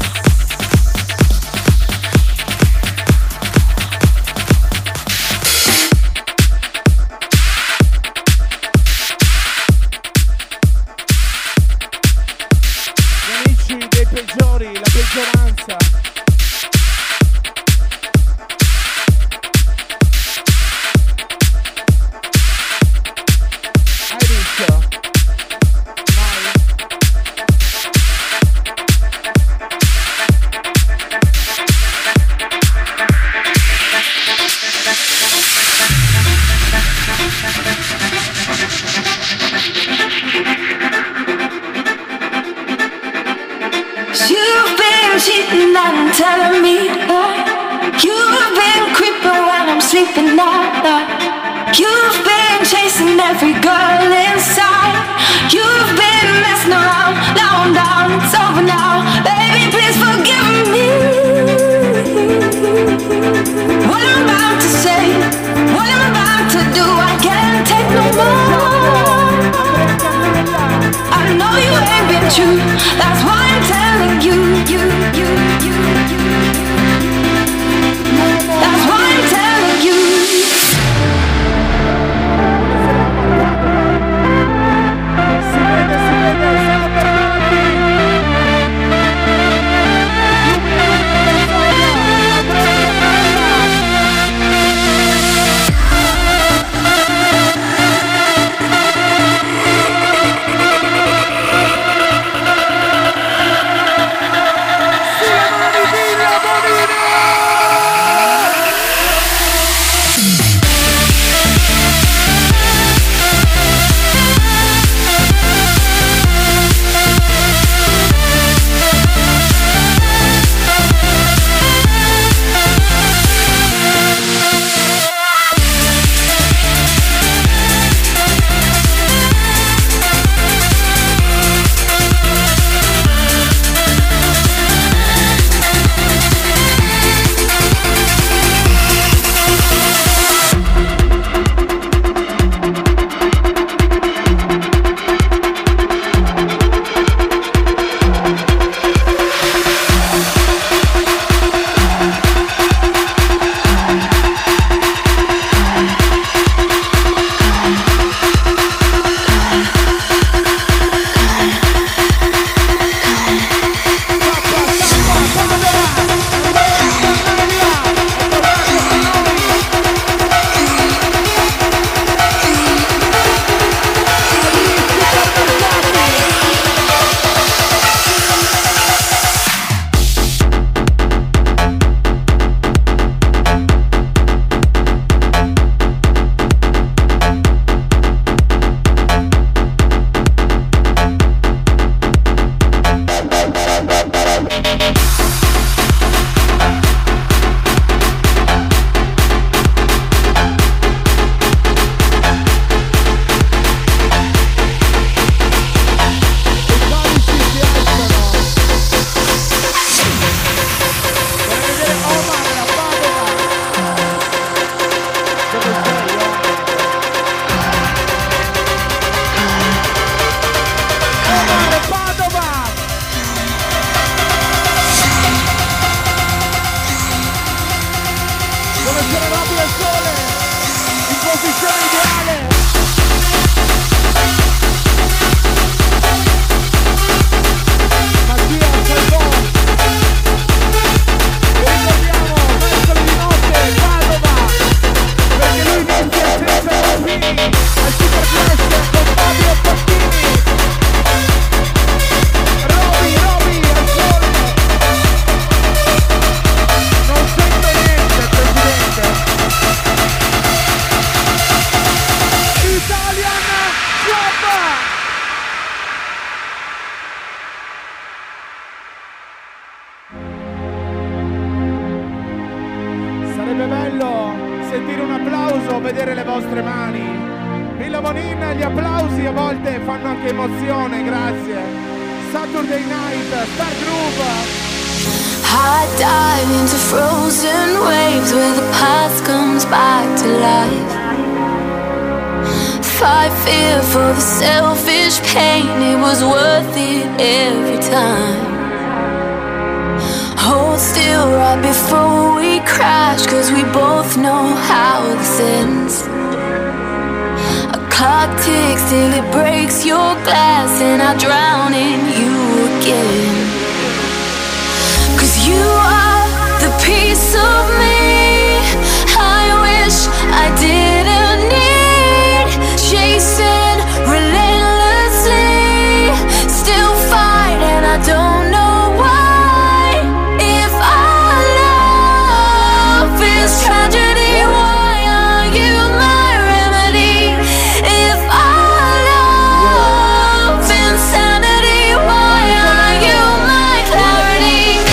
Gli amici dei peggiori, la peggioranza. Hai visto? Mai. You've been cheating and telling me that you've been creeping when I'm sleeping now. You've been chasing every girl inside. You've been messing around. Now I'm down, it's over now. Baby, please forgive me. What I'm about to say, what I'm about to do, I can't take no more. I know you ain't been true. That's why I'm telling you. That's why I'm telling you. Si vede, siamo tornati. Villa Bonin, gli applausi a volte fanno anche emozione, grazie. Saturday Night, Star Groove. I dive into frozen waves where the past comes back to life. Fight fear for the selfish pain, it was worth it every time. Hold still right before we crash, cause we both know how this ends. A clock ticks till it breaks your glass and I drown in you again. Cause you are the piece of me I wish I didn't need. Chasing relentlessly, still fight and I don't know why. If our love is tragedy, why are you my remedy? If our love insanity, why are you my clarity?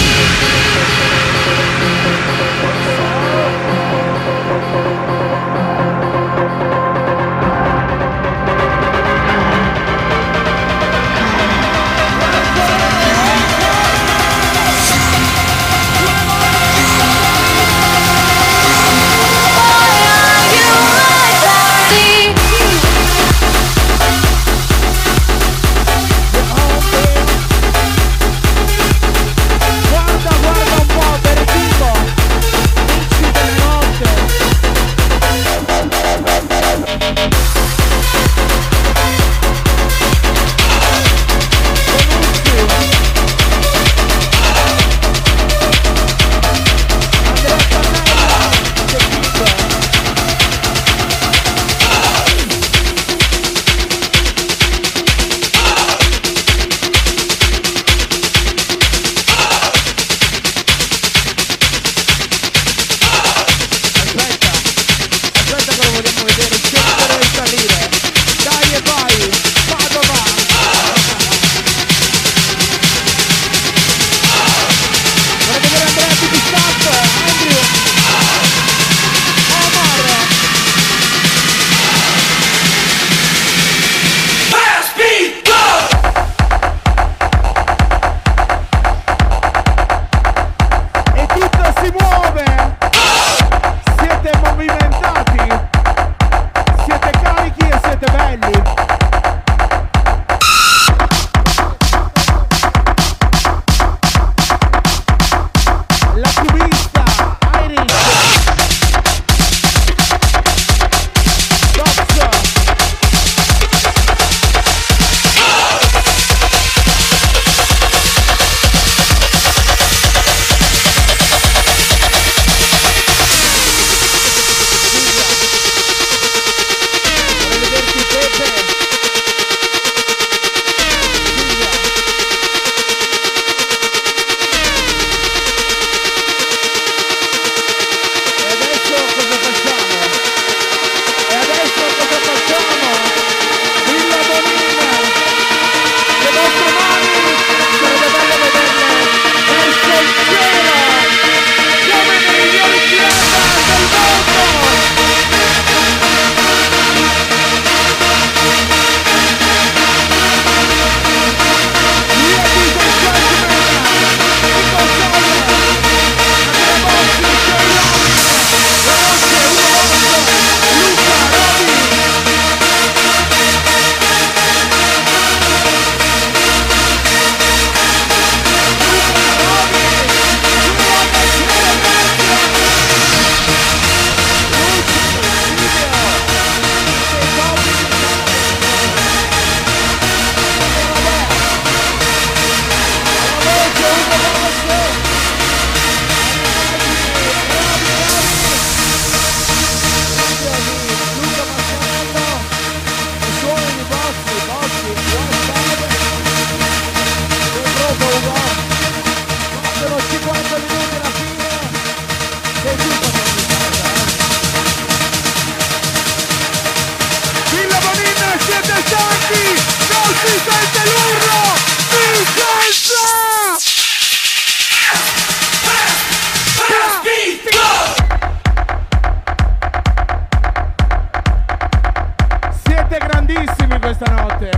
Siete grandissimi questa notte.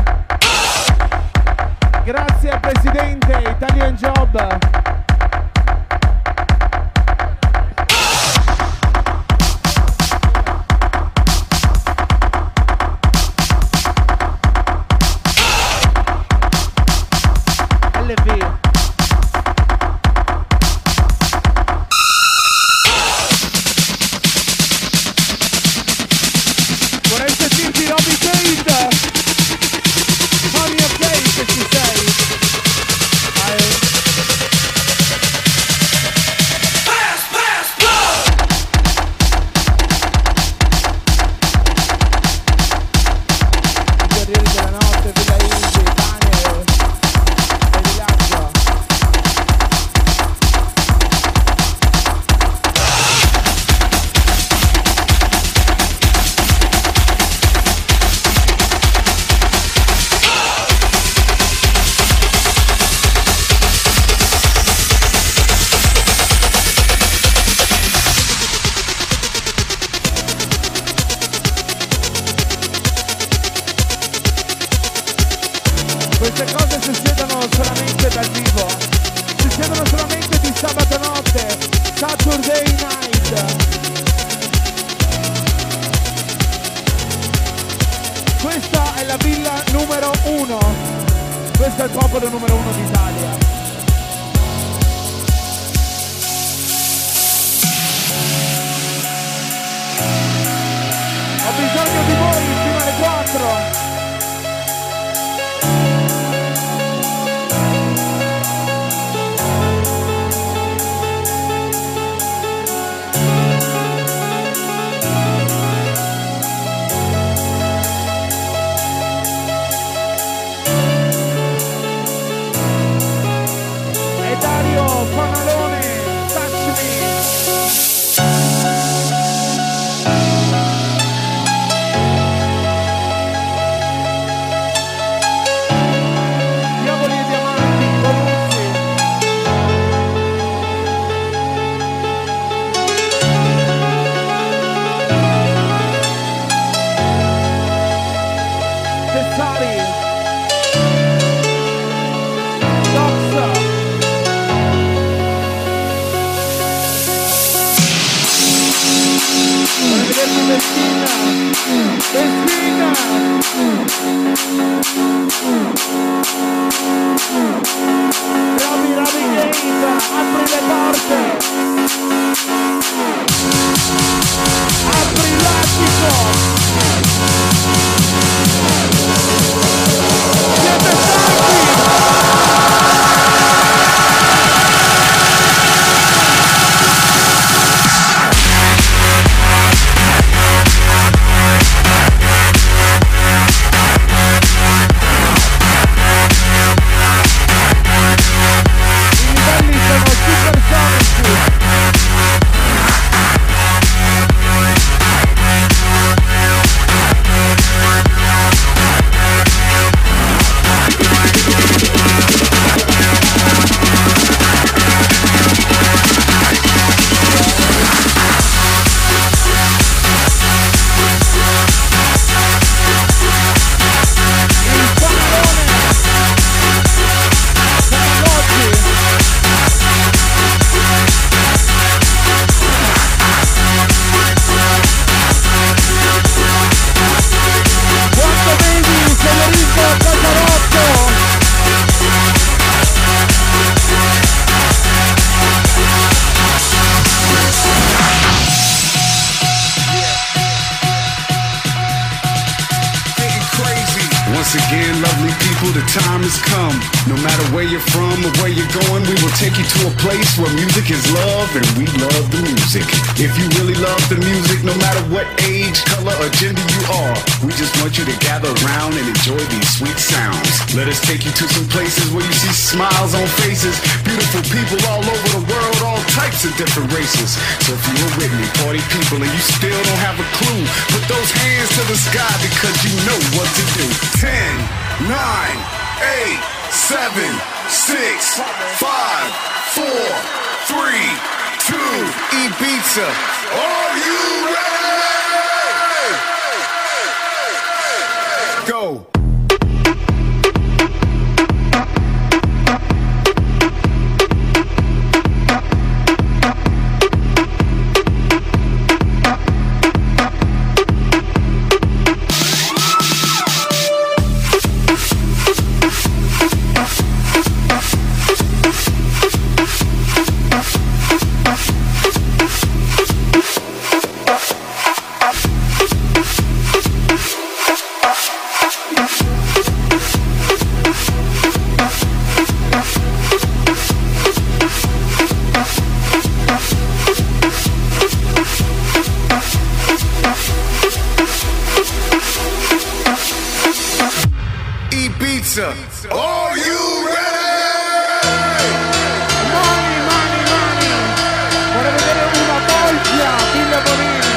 Grazie al presidente Italian Job. Vorrei sentirti Robbie Tate. Fammi a play se ci sei. Queste cose succedono solamente dal vivo, succedono solamente di sabato notte, Saturday night. Questa è la villa numero 1, questo è il popolo numero 1 d'Italia. Ho bisogno di voi fino alle 4. Once again, lovely people, the time has come. No matter where you're from or where you're going, we will take you to a place where music is love and we love the music. If you really love the music, no matter what age, color, or gender you are, we just want you to gather around and enjoy these sweet sounds. Let us take you to some places where you see smiles on faces, beautiful people all over the world, all types of different races. So if you're with me, party people, and you still don't have a clue, put those hands to the sky because you know what to do. 10, 9, 8, 7, 6, 5, 4, 3, 2, Ibiza. Are you ready? Go. Ibiza, are you ready? Mani, vorrei vedere una voglia, Villa Bonina.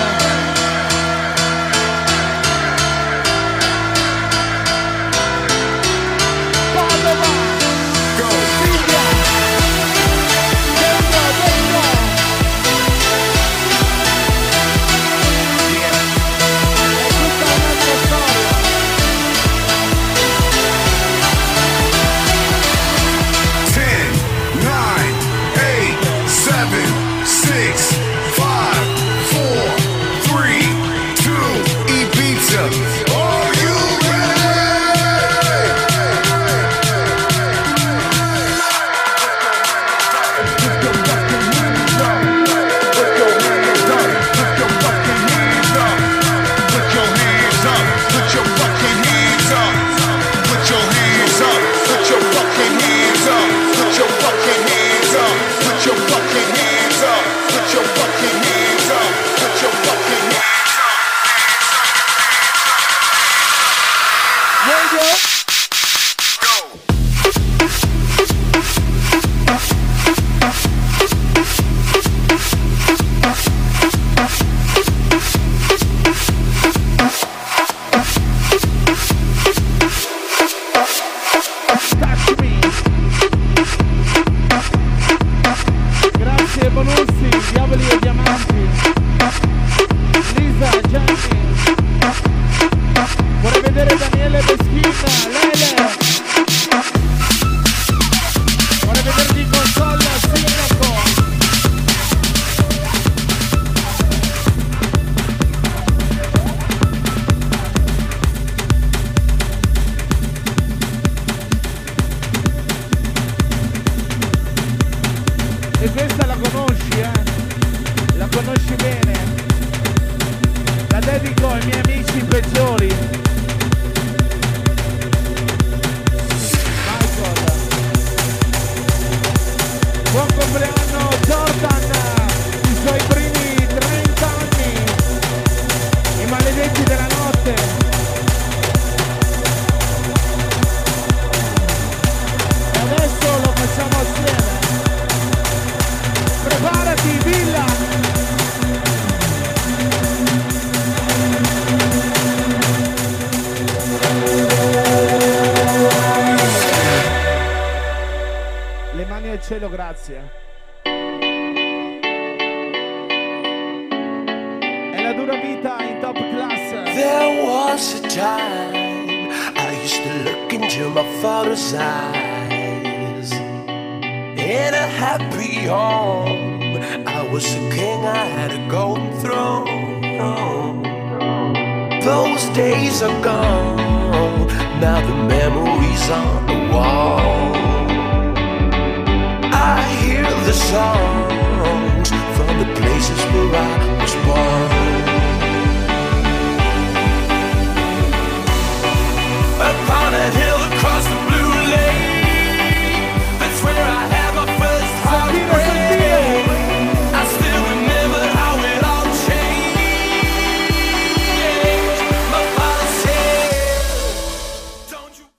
Padova, Go. Villa, dentro. È tutta un'altra storia. 10, 9, 8, 7, 6, 5, 4, 3, 2, Ibiza. Are you Touch me. Grazie Bonussi, Diavoli e Diamanti. Lisa, Gianni. Vorrei vedere Daniele Beschina, Lele. Vorrei vederti in console al sindaco. E questa la conosci, la conosci bene. La dedico ai miei amici peggiori. Michael. Buon compleanno Jordan, i suoi primi 30 anni, i maledetti della notte. E adesso lo facciamo assieme. Preparati, Villa! Le mani al cielo, grazie. È la dura vita in top class. There was a time I used to look into my father's eyes. In a happy home, I was a king, I had a golden throne. Those days are gone, now the memories on the wall. I hear the songs from the places where I was born. Upon a hill across the blue lake, that's where I had my first heartbreak. I still remember how it all changed. My father said, don't you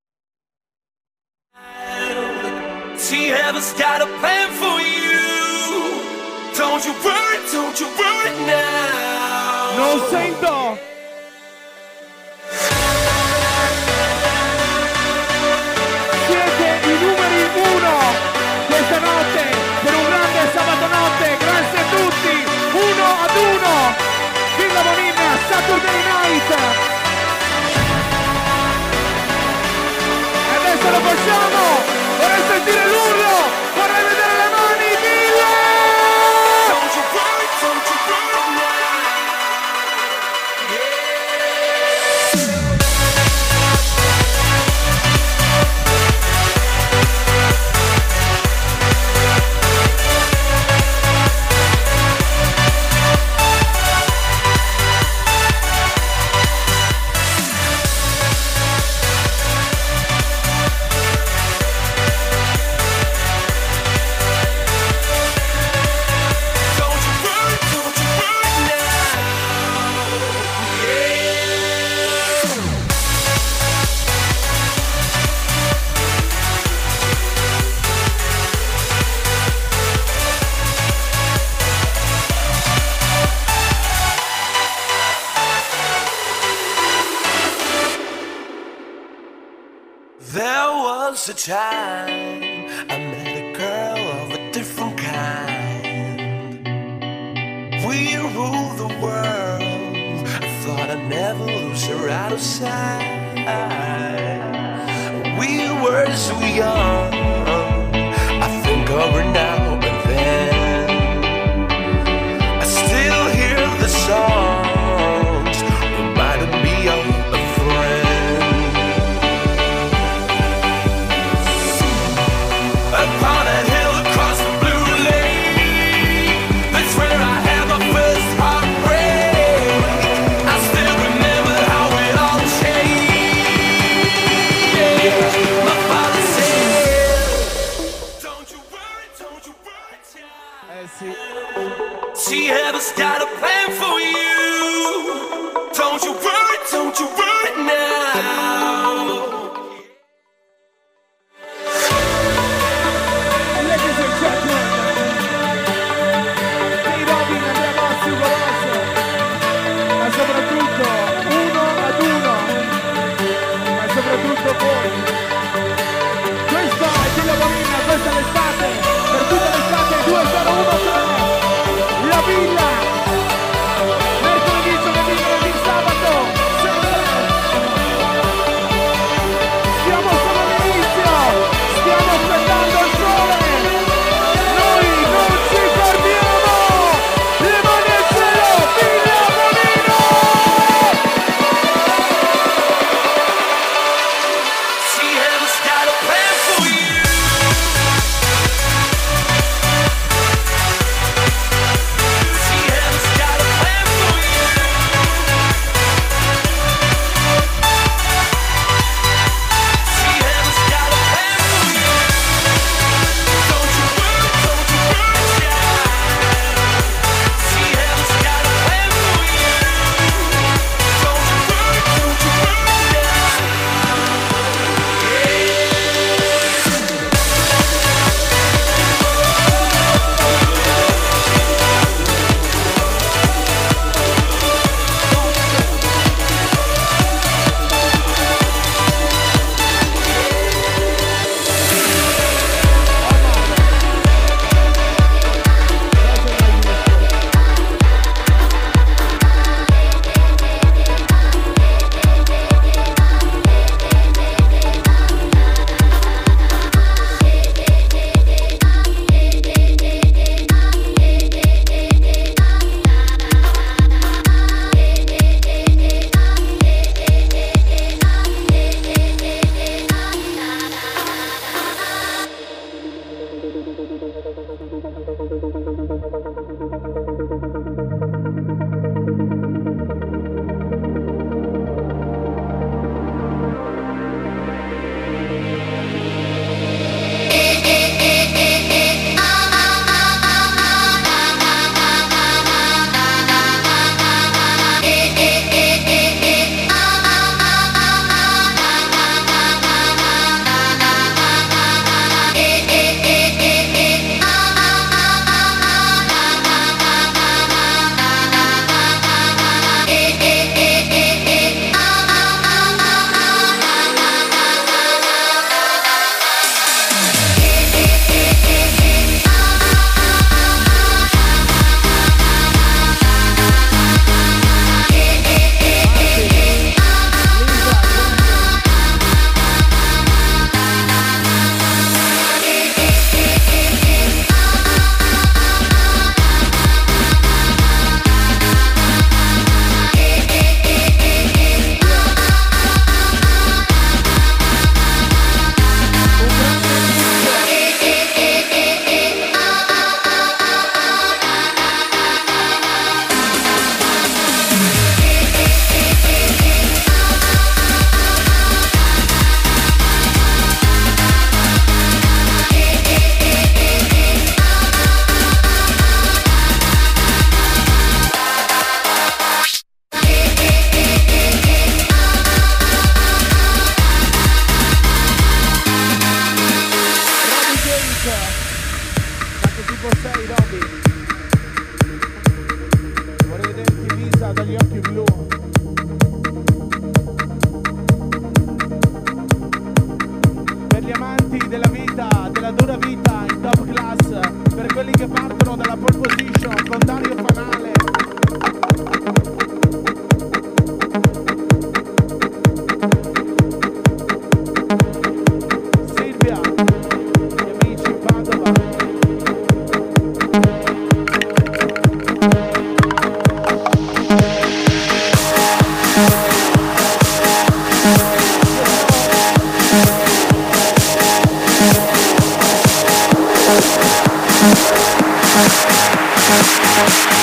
see, heaven's got a plan for you. Don't you worry now. Non sento! Siete i numeri 1 questa notte per un grande sabato notte. Grazie a tutti, 1-1. Villa Bonina, Saturday Night. was a time I met a girl of a different kind. We ruled the world. I thought I'd never lose her out of sight. We were so young. I think of her now and then. I still hear the songs reminding me of a friend. Upon a hill across the blue lake, that's where I had my first heartbreak. I still remember how it all changed. My father said, don't you worry,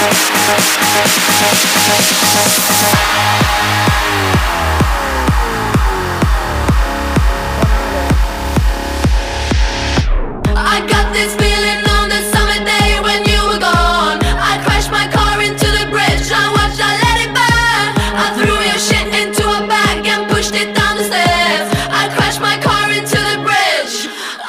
I got this feeling on the summer day when you were gone. I crashed my car into the bridge. I watched, I let it burn. I threw your shit into a bag and pushed it down the stairs. I crashed my car into the bridge.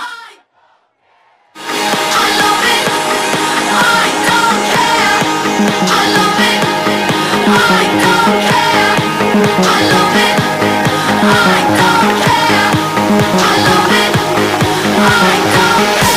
I love it. I don't care. I love it. I don't care. I love it. I don't care. I love it. I don't care.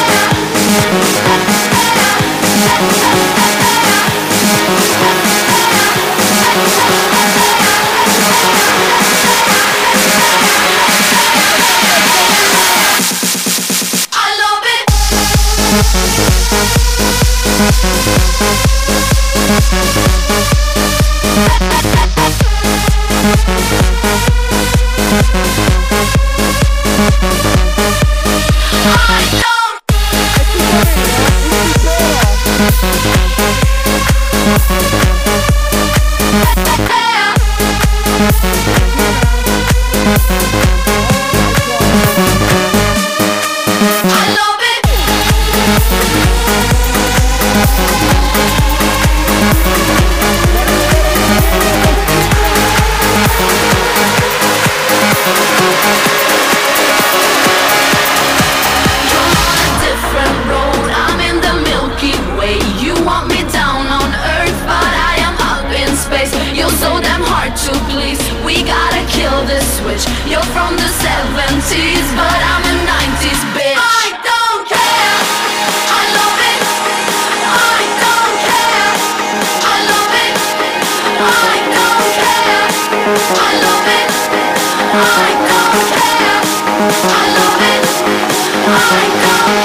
You're from the 70s, but I'm a 90s bitch. I don't care. I love it. I don't care. I love it. I don't care. I love it. I don't care. I love it. I don't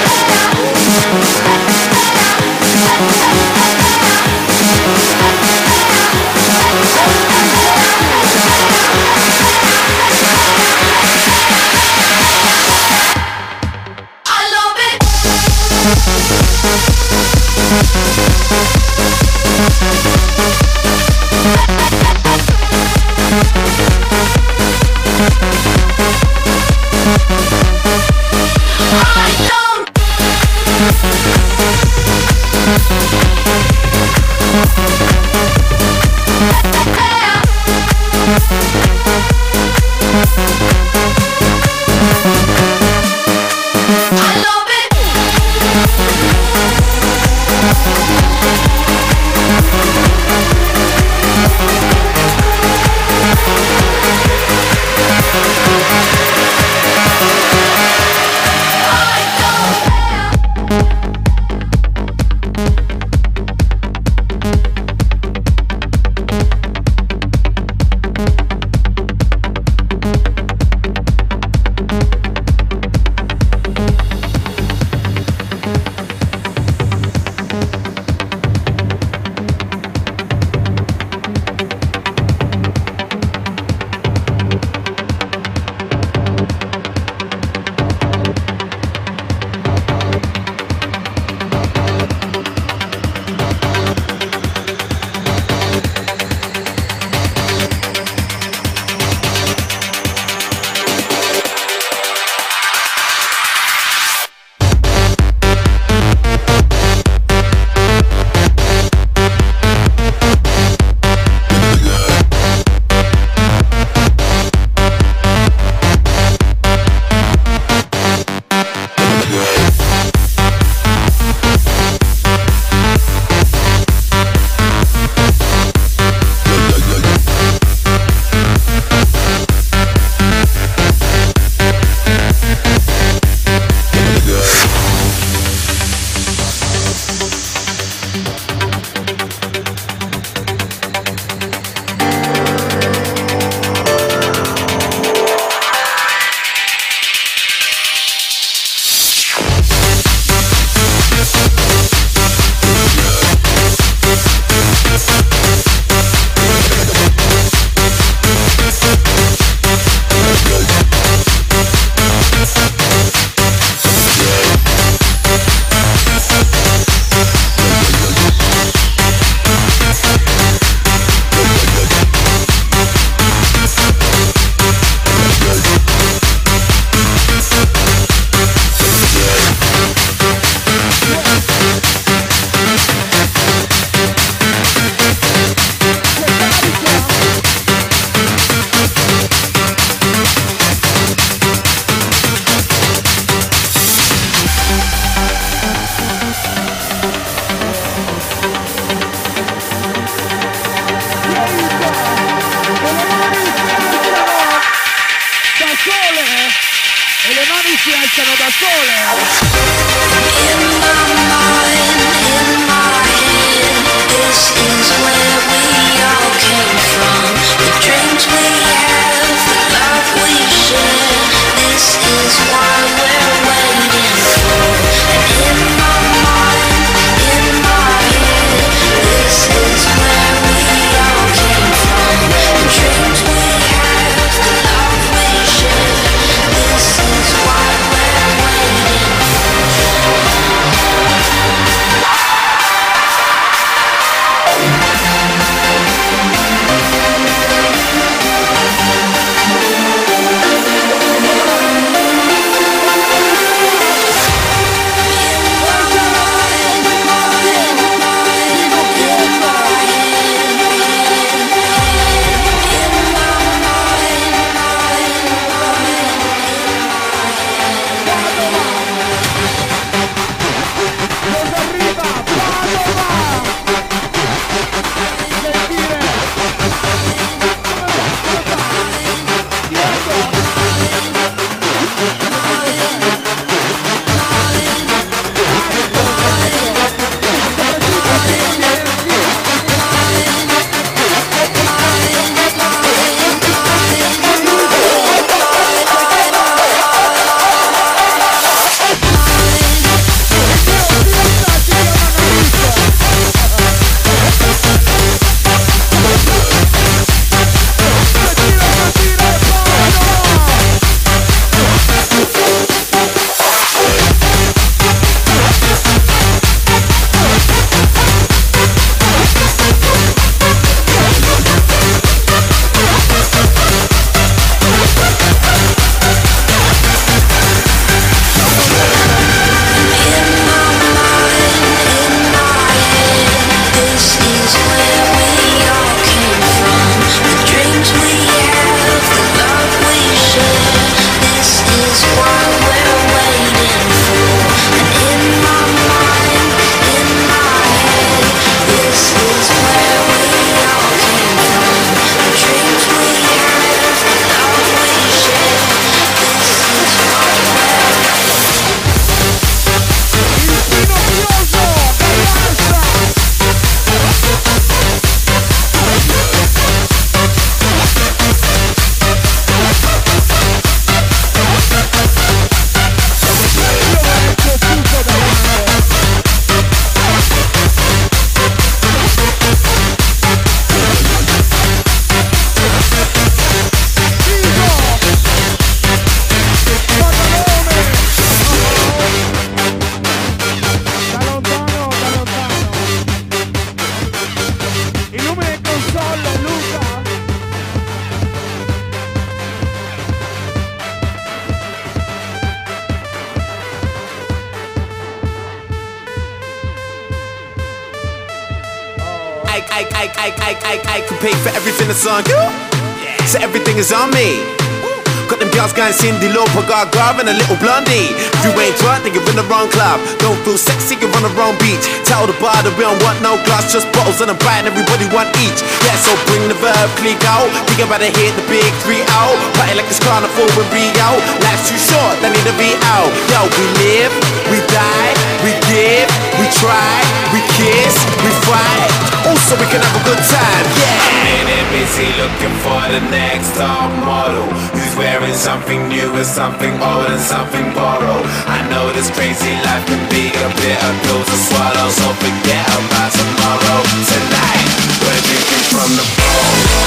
I sole e le mani si alzano da sole. In my mind, in my head, this is where we all came from. The dreams we have, the love we share, this is what we're waiting for. And in my mind, in my head, this is where we all came from. The dreams we have, the love we share, this is what we're waiting I can pay for everything that's on you. So everything is on me. Got them girls going Cindy Lauper, Gaga and a little blondie. If you ain't drunk, then you're in the wrong club. Don't feel sexy, you're on the wrong beach. Tell the bar that we don't want no glass, just bottles and a bite, and everybody want each. Yeah, so bring the verb, click out. Think about it, hit the big 3 out. Party like it's carnival with Rio. Life's too short, they need to be out. Yo, we live, we die, we give, we try, we kiss, we fight. Also, we can have a good time, yeah. I'm in it busy looking for the next top model who's wearing something new and something old and something borrowed. I know this crazy life can be a bitter pill to swallow, so forget about tomorrow. Tonight, we're drinking from the bowl.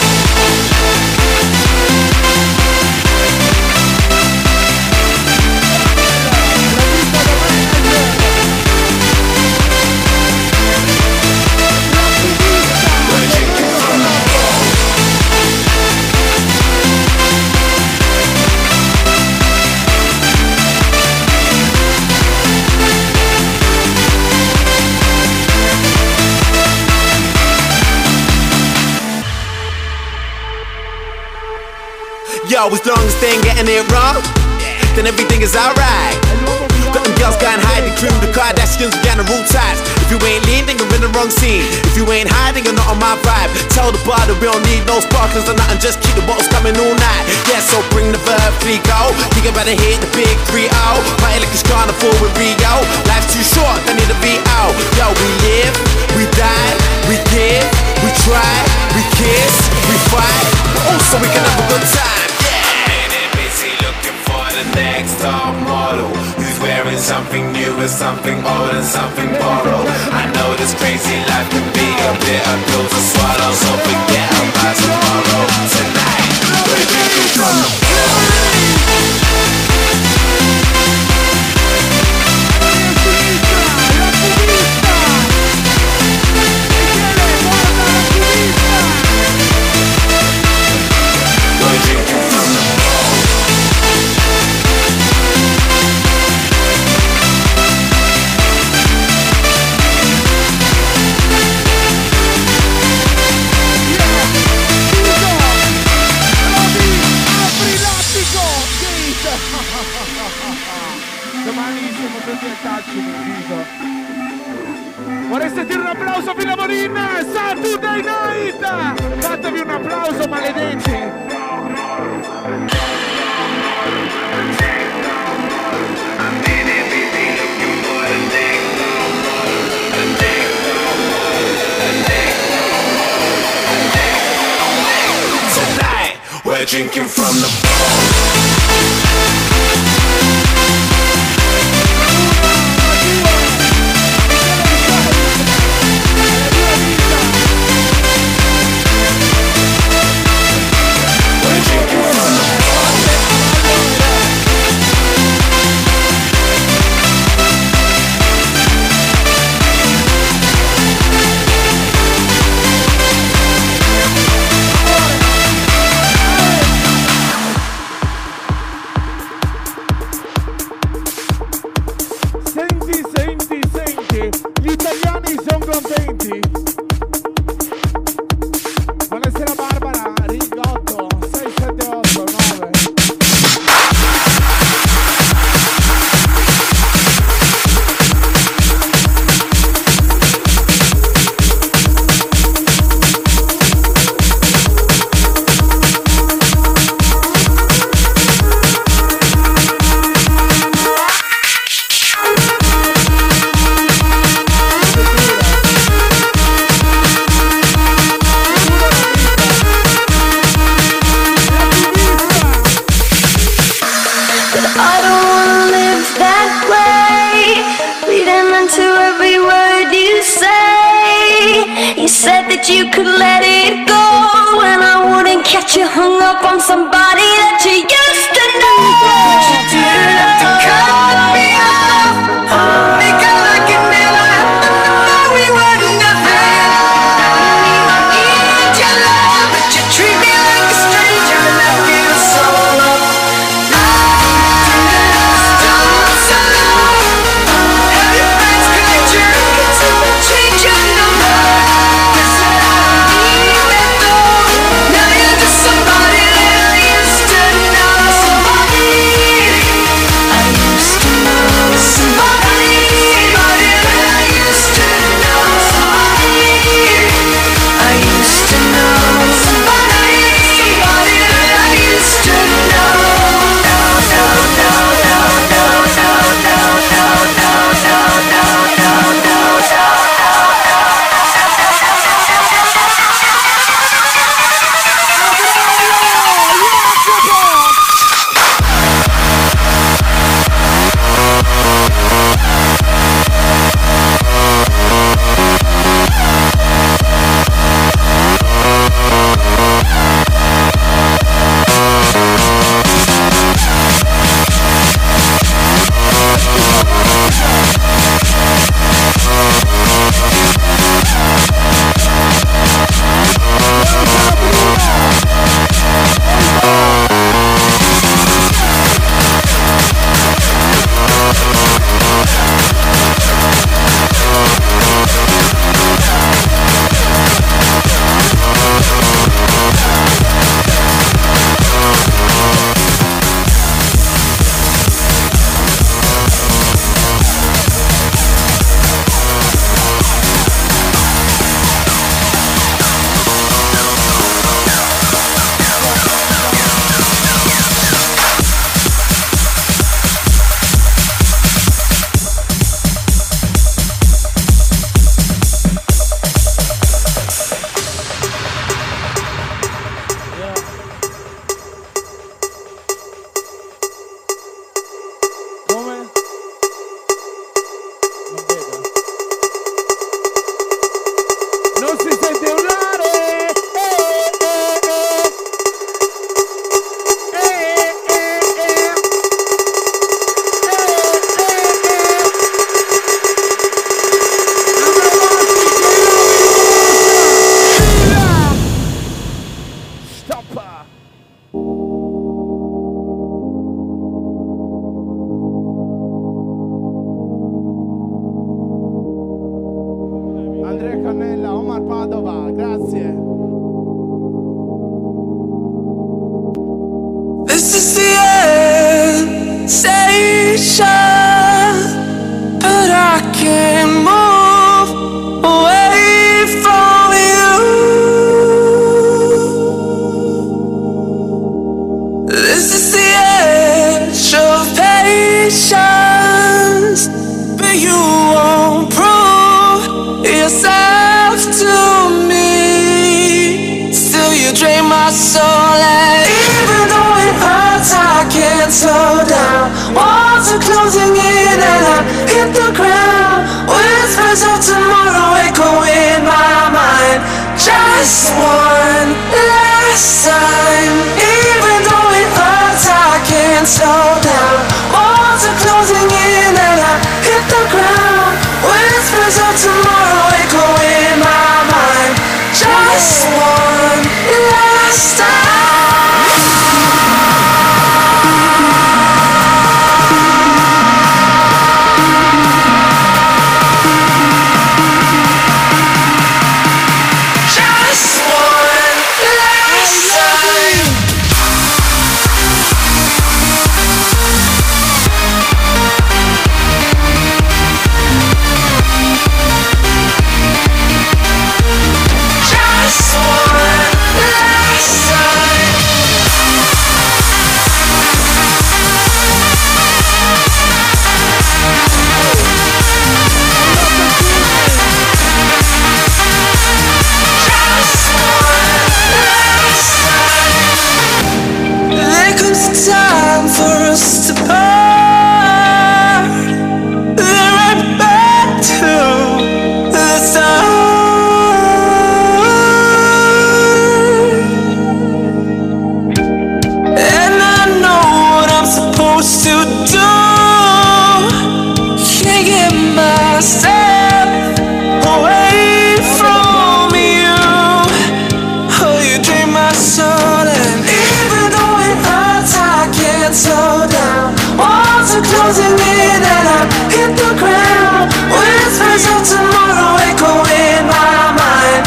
Yo, as long as they ain't getting it wrong, then everything is alright. Got them girls going hide, the cream, the Kardashians, we got the rule ties. If you ain't lean, then you're in the wrong scene. If you ain't hiding, you're not on my vibe. Tell the bar that we don't need no sparklers or nothing, just keep the bottles coming all night. Yeah, so bring the verb, freak about to hit the big 3-0. Party like it's carnival with Rio. Life's too short, they need a VO. Yo, we live, we die, we give, we try, we kiss, we fight. Also, we can have a good time. Busy looking for the next top model who's wearing something new and something old and something borrowed. I know this crazy life can be a bitter pill to swallow, so forget about tomorrow. Tonight, we're drinking from the Vorrei sentire un applauso Villa Bonin, Saturday Night! Fatevi un applauso, maledetti! Tonight, we're drinking from the Gli italiani sono contenti. Buonasera Barbara, Ring 8, 6, 7, 8, 9. You could let it go, and I wouldn't catch you hung up on somebody that you used to know. But you didn't have to cut me off, because I could never know we were nothing. I need your love, but you treat me like a stranger, and I feel so alone. Have your friends connect your records and change your number. Now you're just somebody that I used to know. the end station, but I can't move away from you. This is the edge of patience, but you won't prove yourself to me. Still you drain my soul, and even though it hurts I can't slow down. Walls are closing in and I hit the ground. Whispers of tomorrow echo in my mind. Just one last time. Even though it hurts I can't slow down. Walls are closing in and I hit the ground. Whispers of tomorrow echo in my mind. Just one last time. Time for us to part, then right back to the start. And I know what I'm supposed to do. Can't get myself away from you. Oh, you drain my soul, and even though it hurts I can't slow down. Walls are closing in and I hit the ground. Whispers of tomorrow echo in my mind.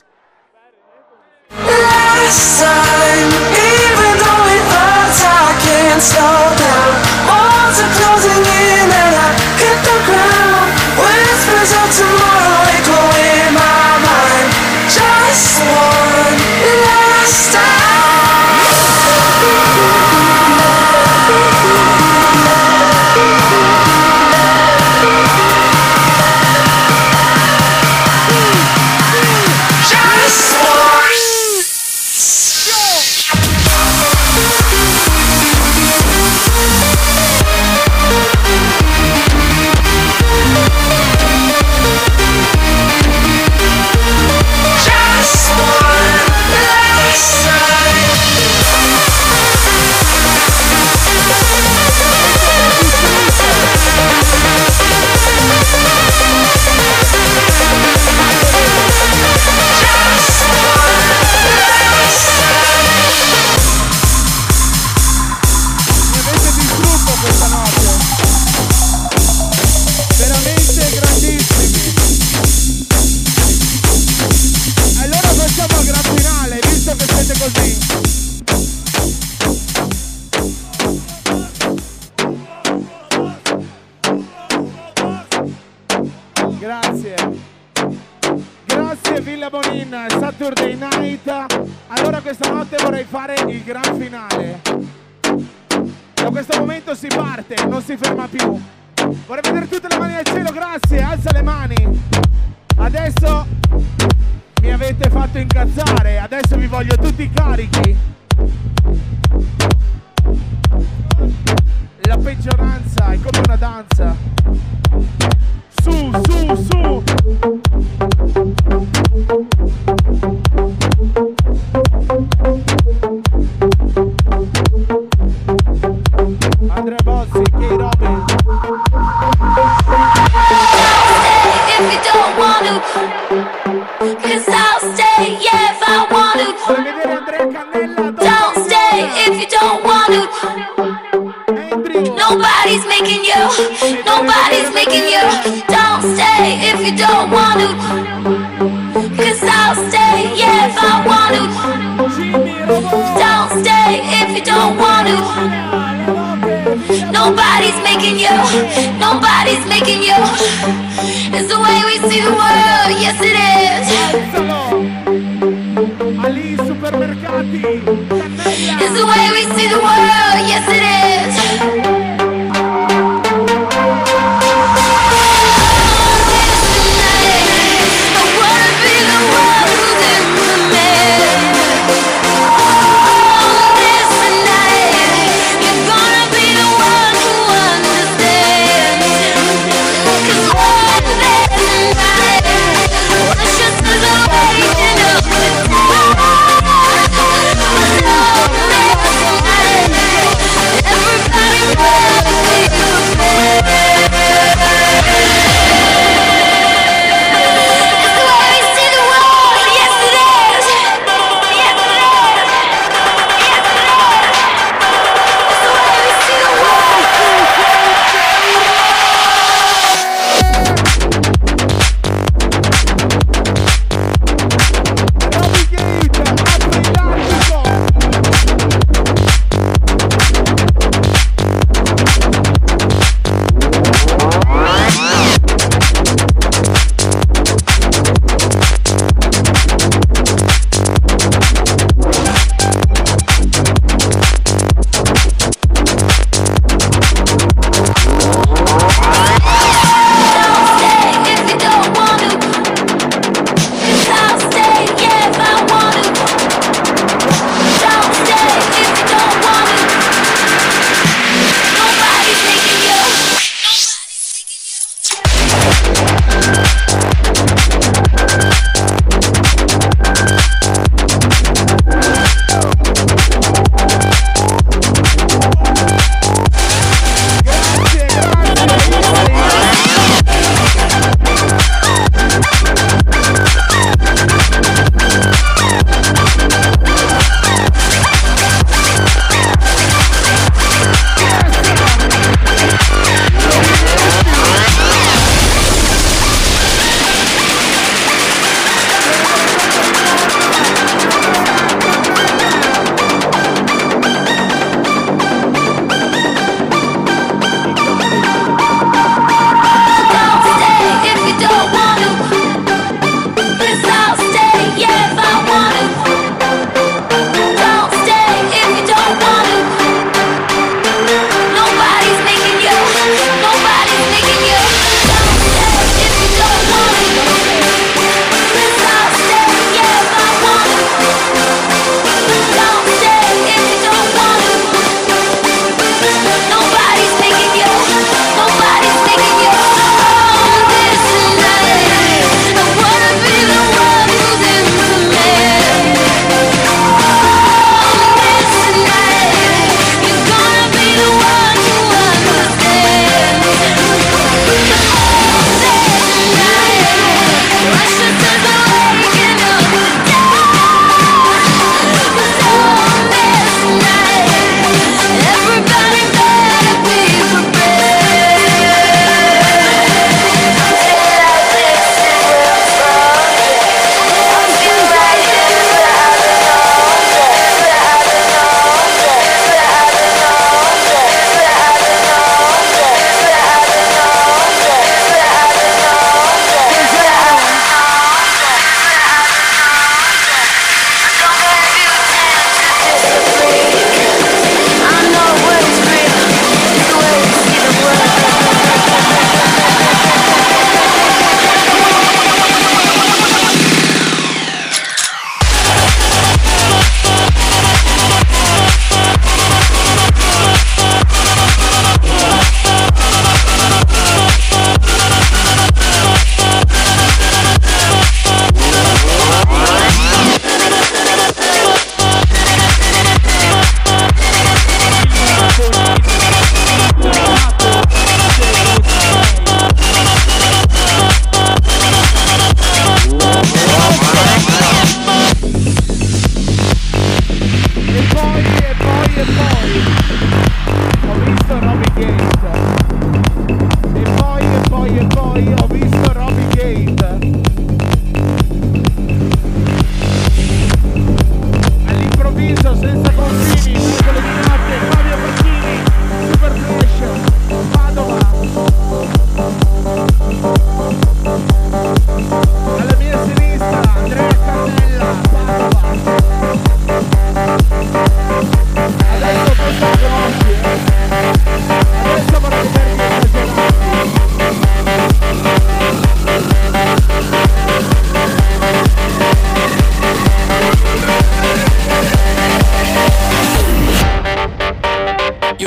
Last time, even though it hurts I can't slow down. Walls are closing in and I hit the ground. Whispers of tomorrow echo in my mind. Just one last time. Grazie Villa Bonin, Saturday Night. Allora questa notte vorrei fare il gran finale. Da questo momento si parte, non si ferma più. Vorrei vedere tutte le mani al cielo, grazie, alza le mani. Adesso mi avete fatto incazzare, adesso vi voglio tutti carichi. La peggioranza è come una danza. Su, su, su. Andrea Bozzi, K-Robin. If you don't want to, 'cause I'll stay, yeah, if I want to. Don't stay if you don't want to. Nobody's making you, nobody's making you. Don't stay if you don't want to, 'cause I'll stay, yeah, if I want to. Don't stay if you don't want to. Nobody's making you. It's the way we see the world, yes it is. Ali Supermercati. It's the way we see the world, yes it is.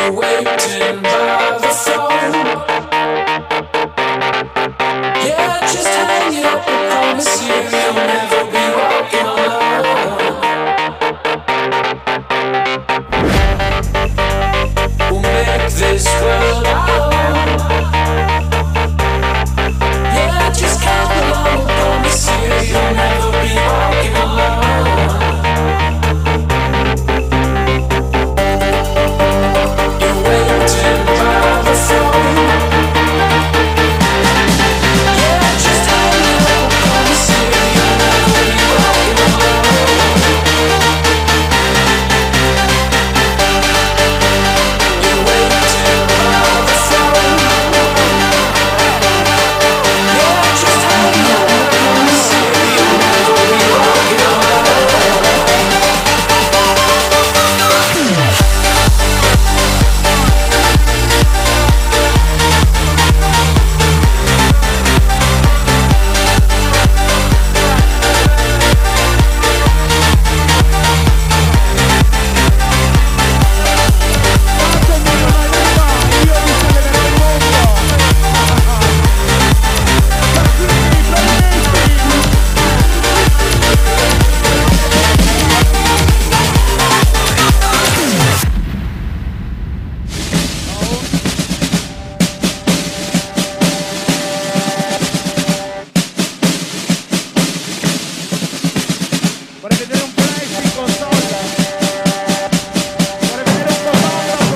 You're waiting by the phone. Yeah, just hang up and promise you you'll never be walking alone. We'll make this world our own. Yeah, just come along and promise you you'll never be walking alone. You're waiting by the phone. Yeah, just hang up and promise you you'll never be walking alone. You're waiting by the phone. Yeah, just hang up and promise you you'll never be walking alone. Vorrei vedere un flash in console. Vorrei vedere un fotografo.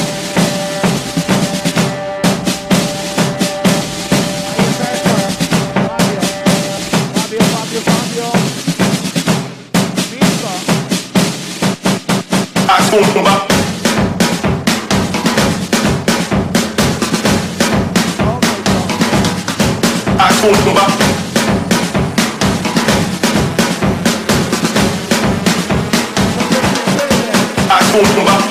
Fabio. Mirko. Ascolta. Ascolta. Ascolta.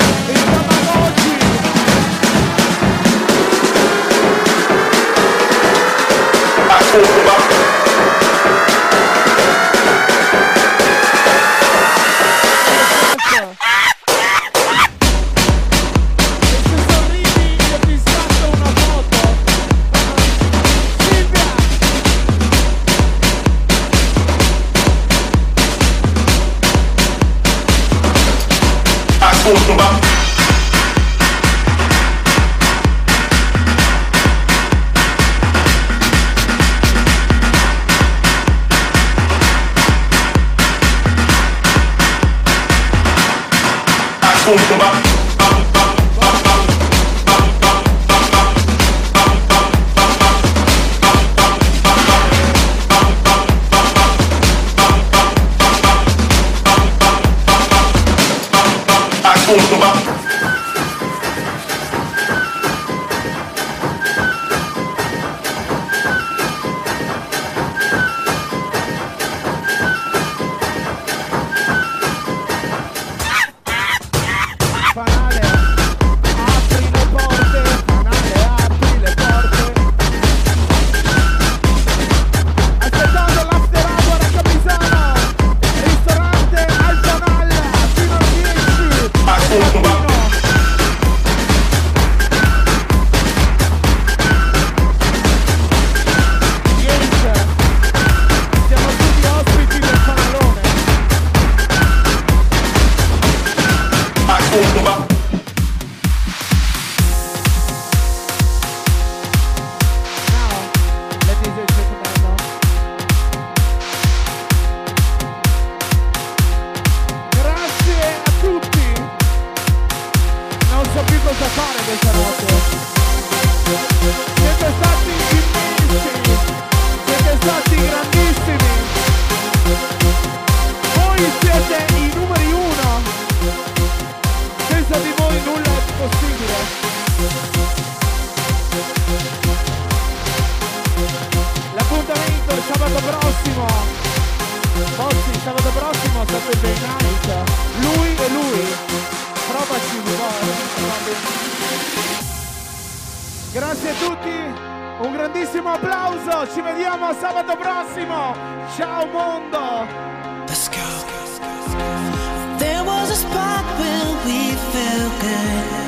Grazie a tutti, un grandissimo applauso, ci vediamo sabato prossimo, ciao mondo! Let's go. There was a spot where we felt good.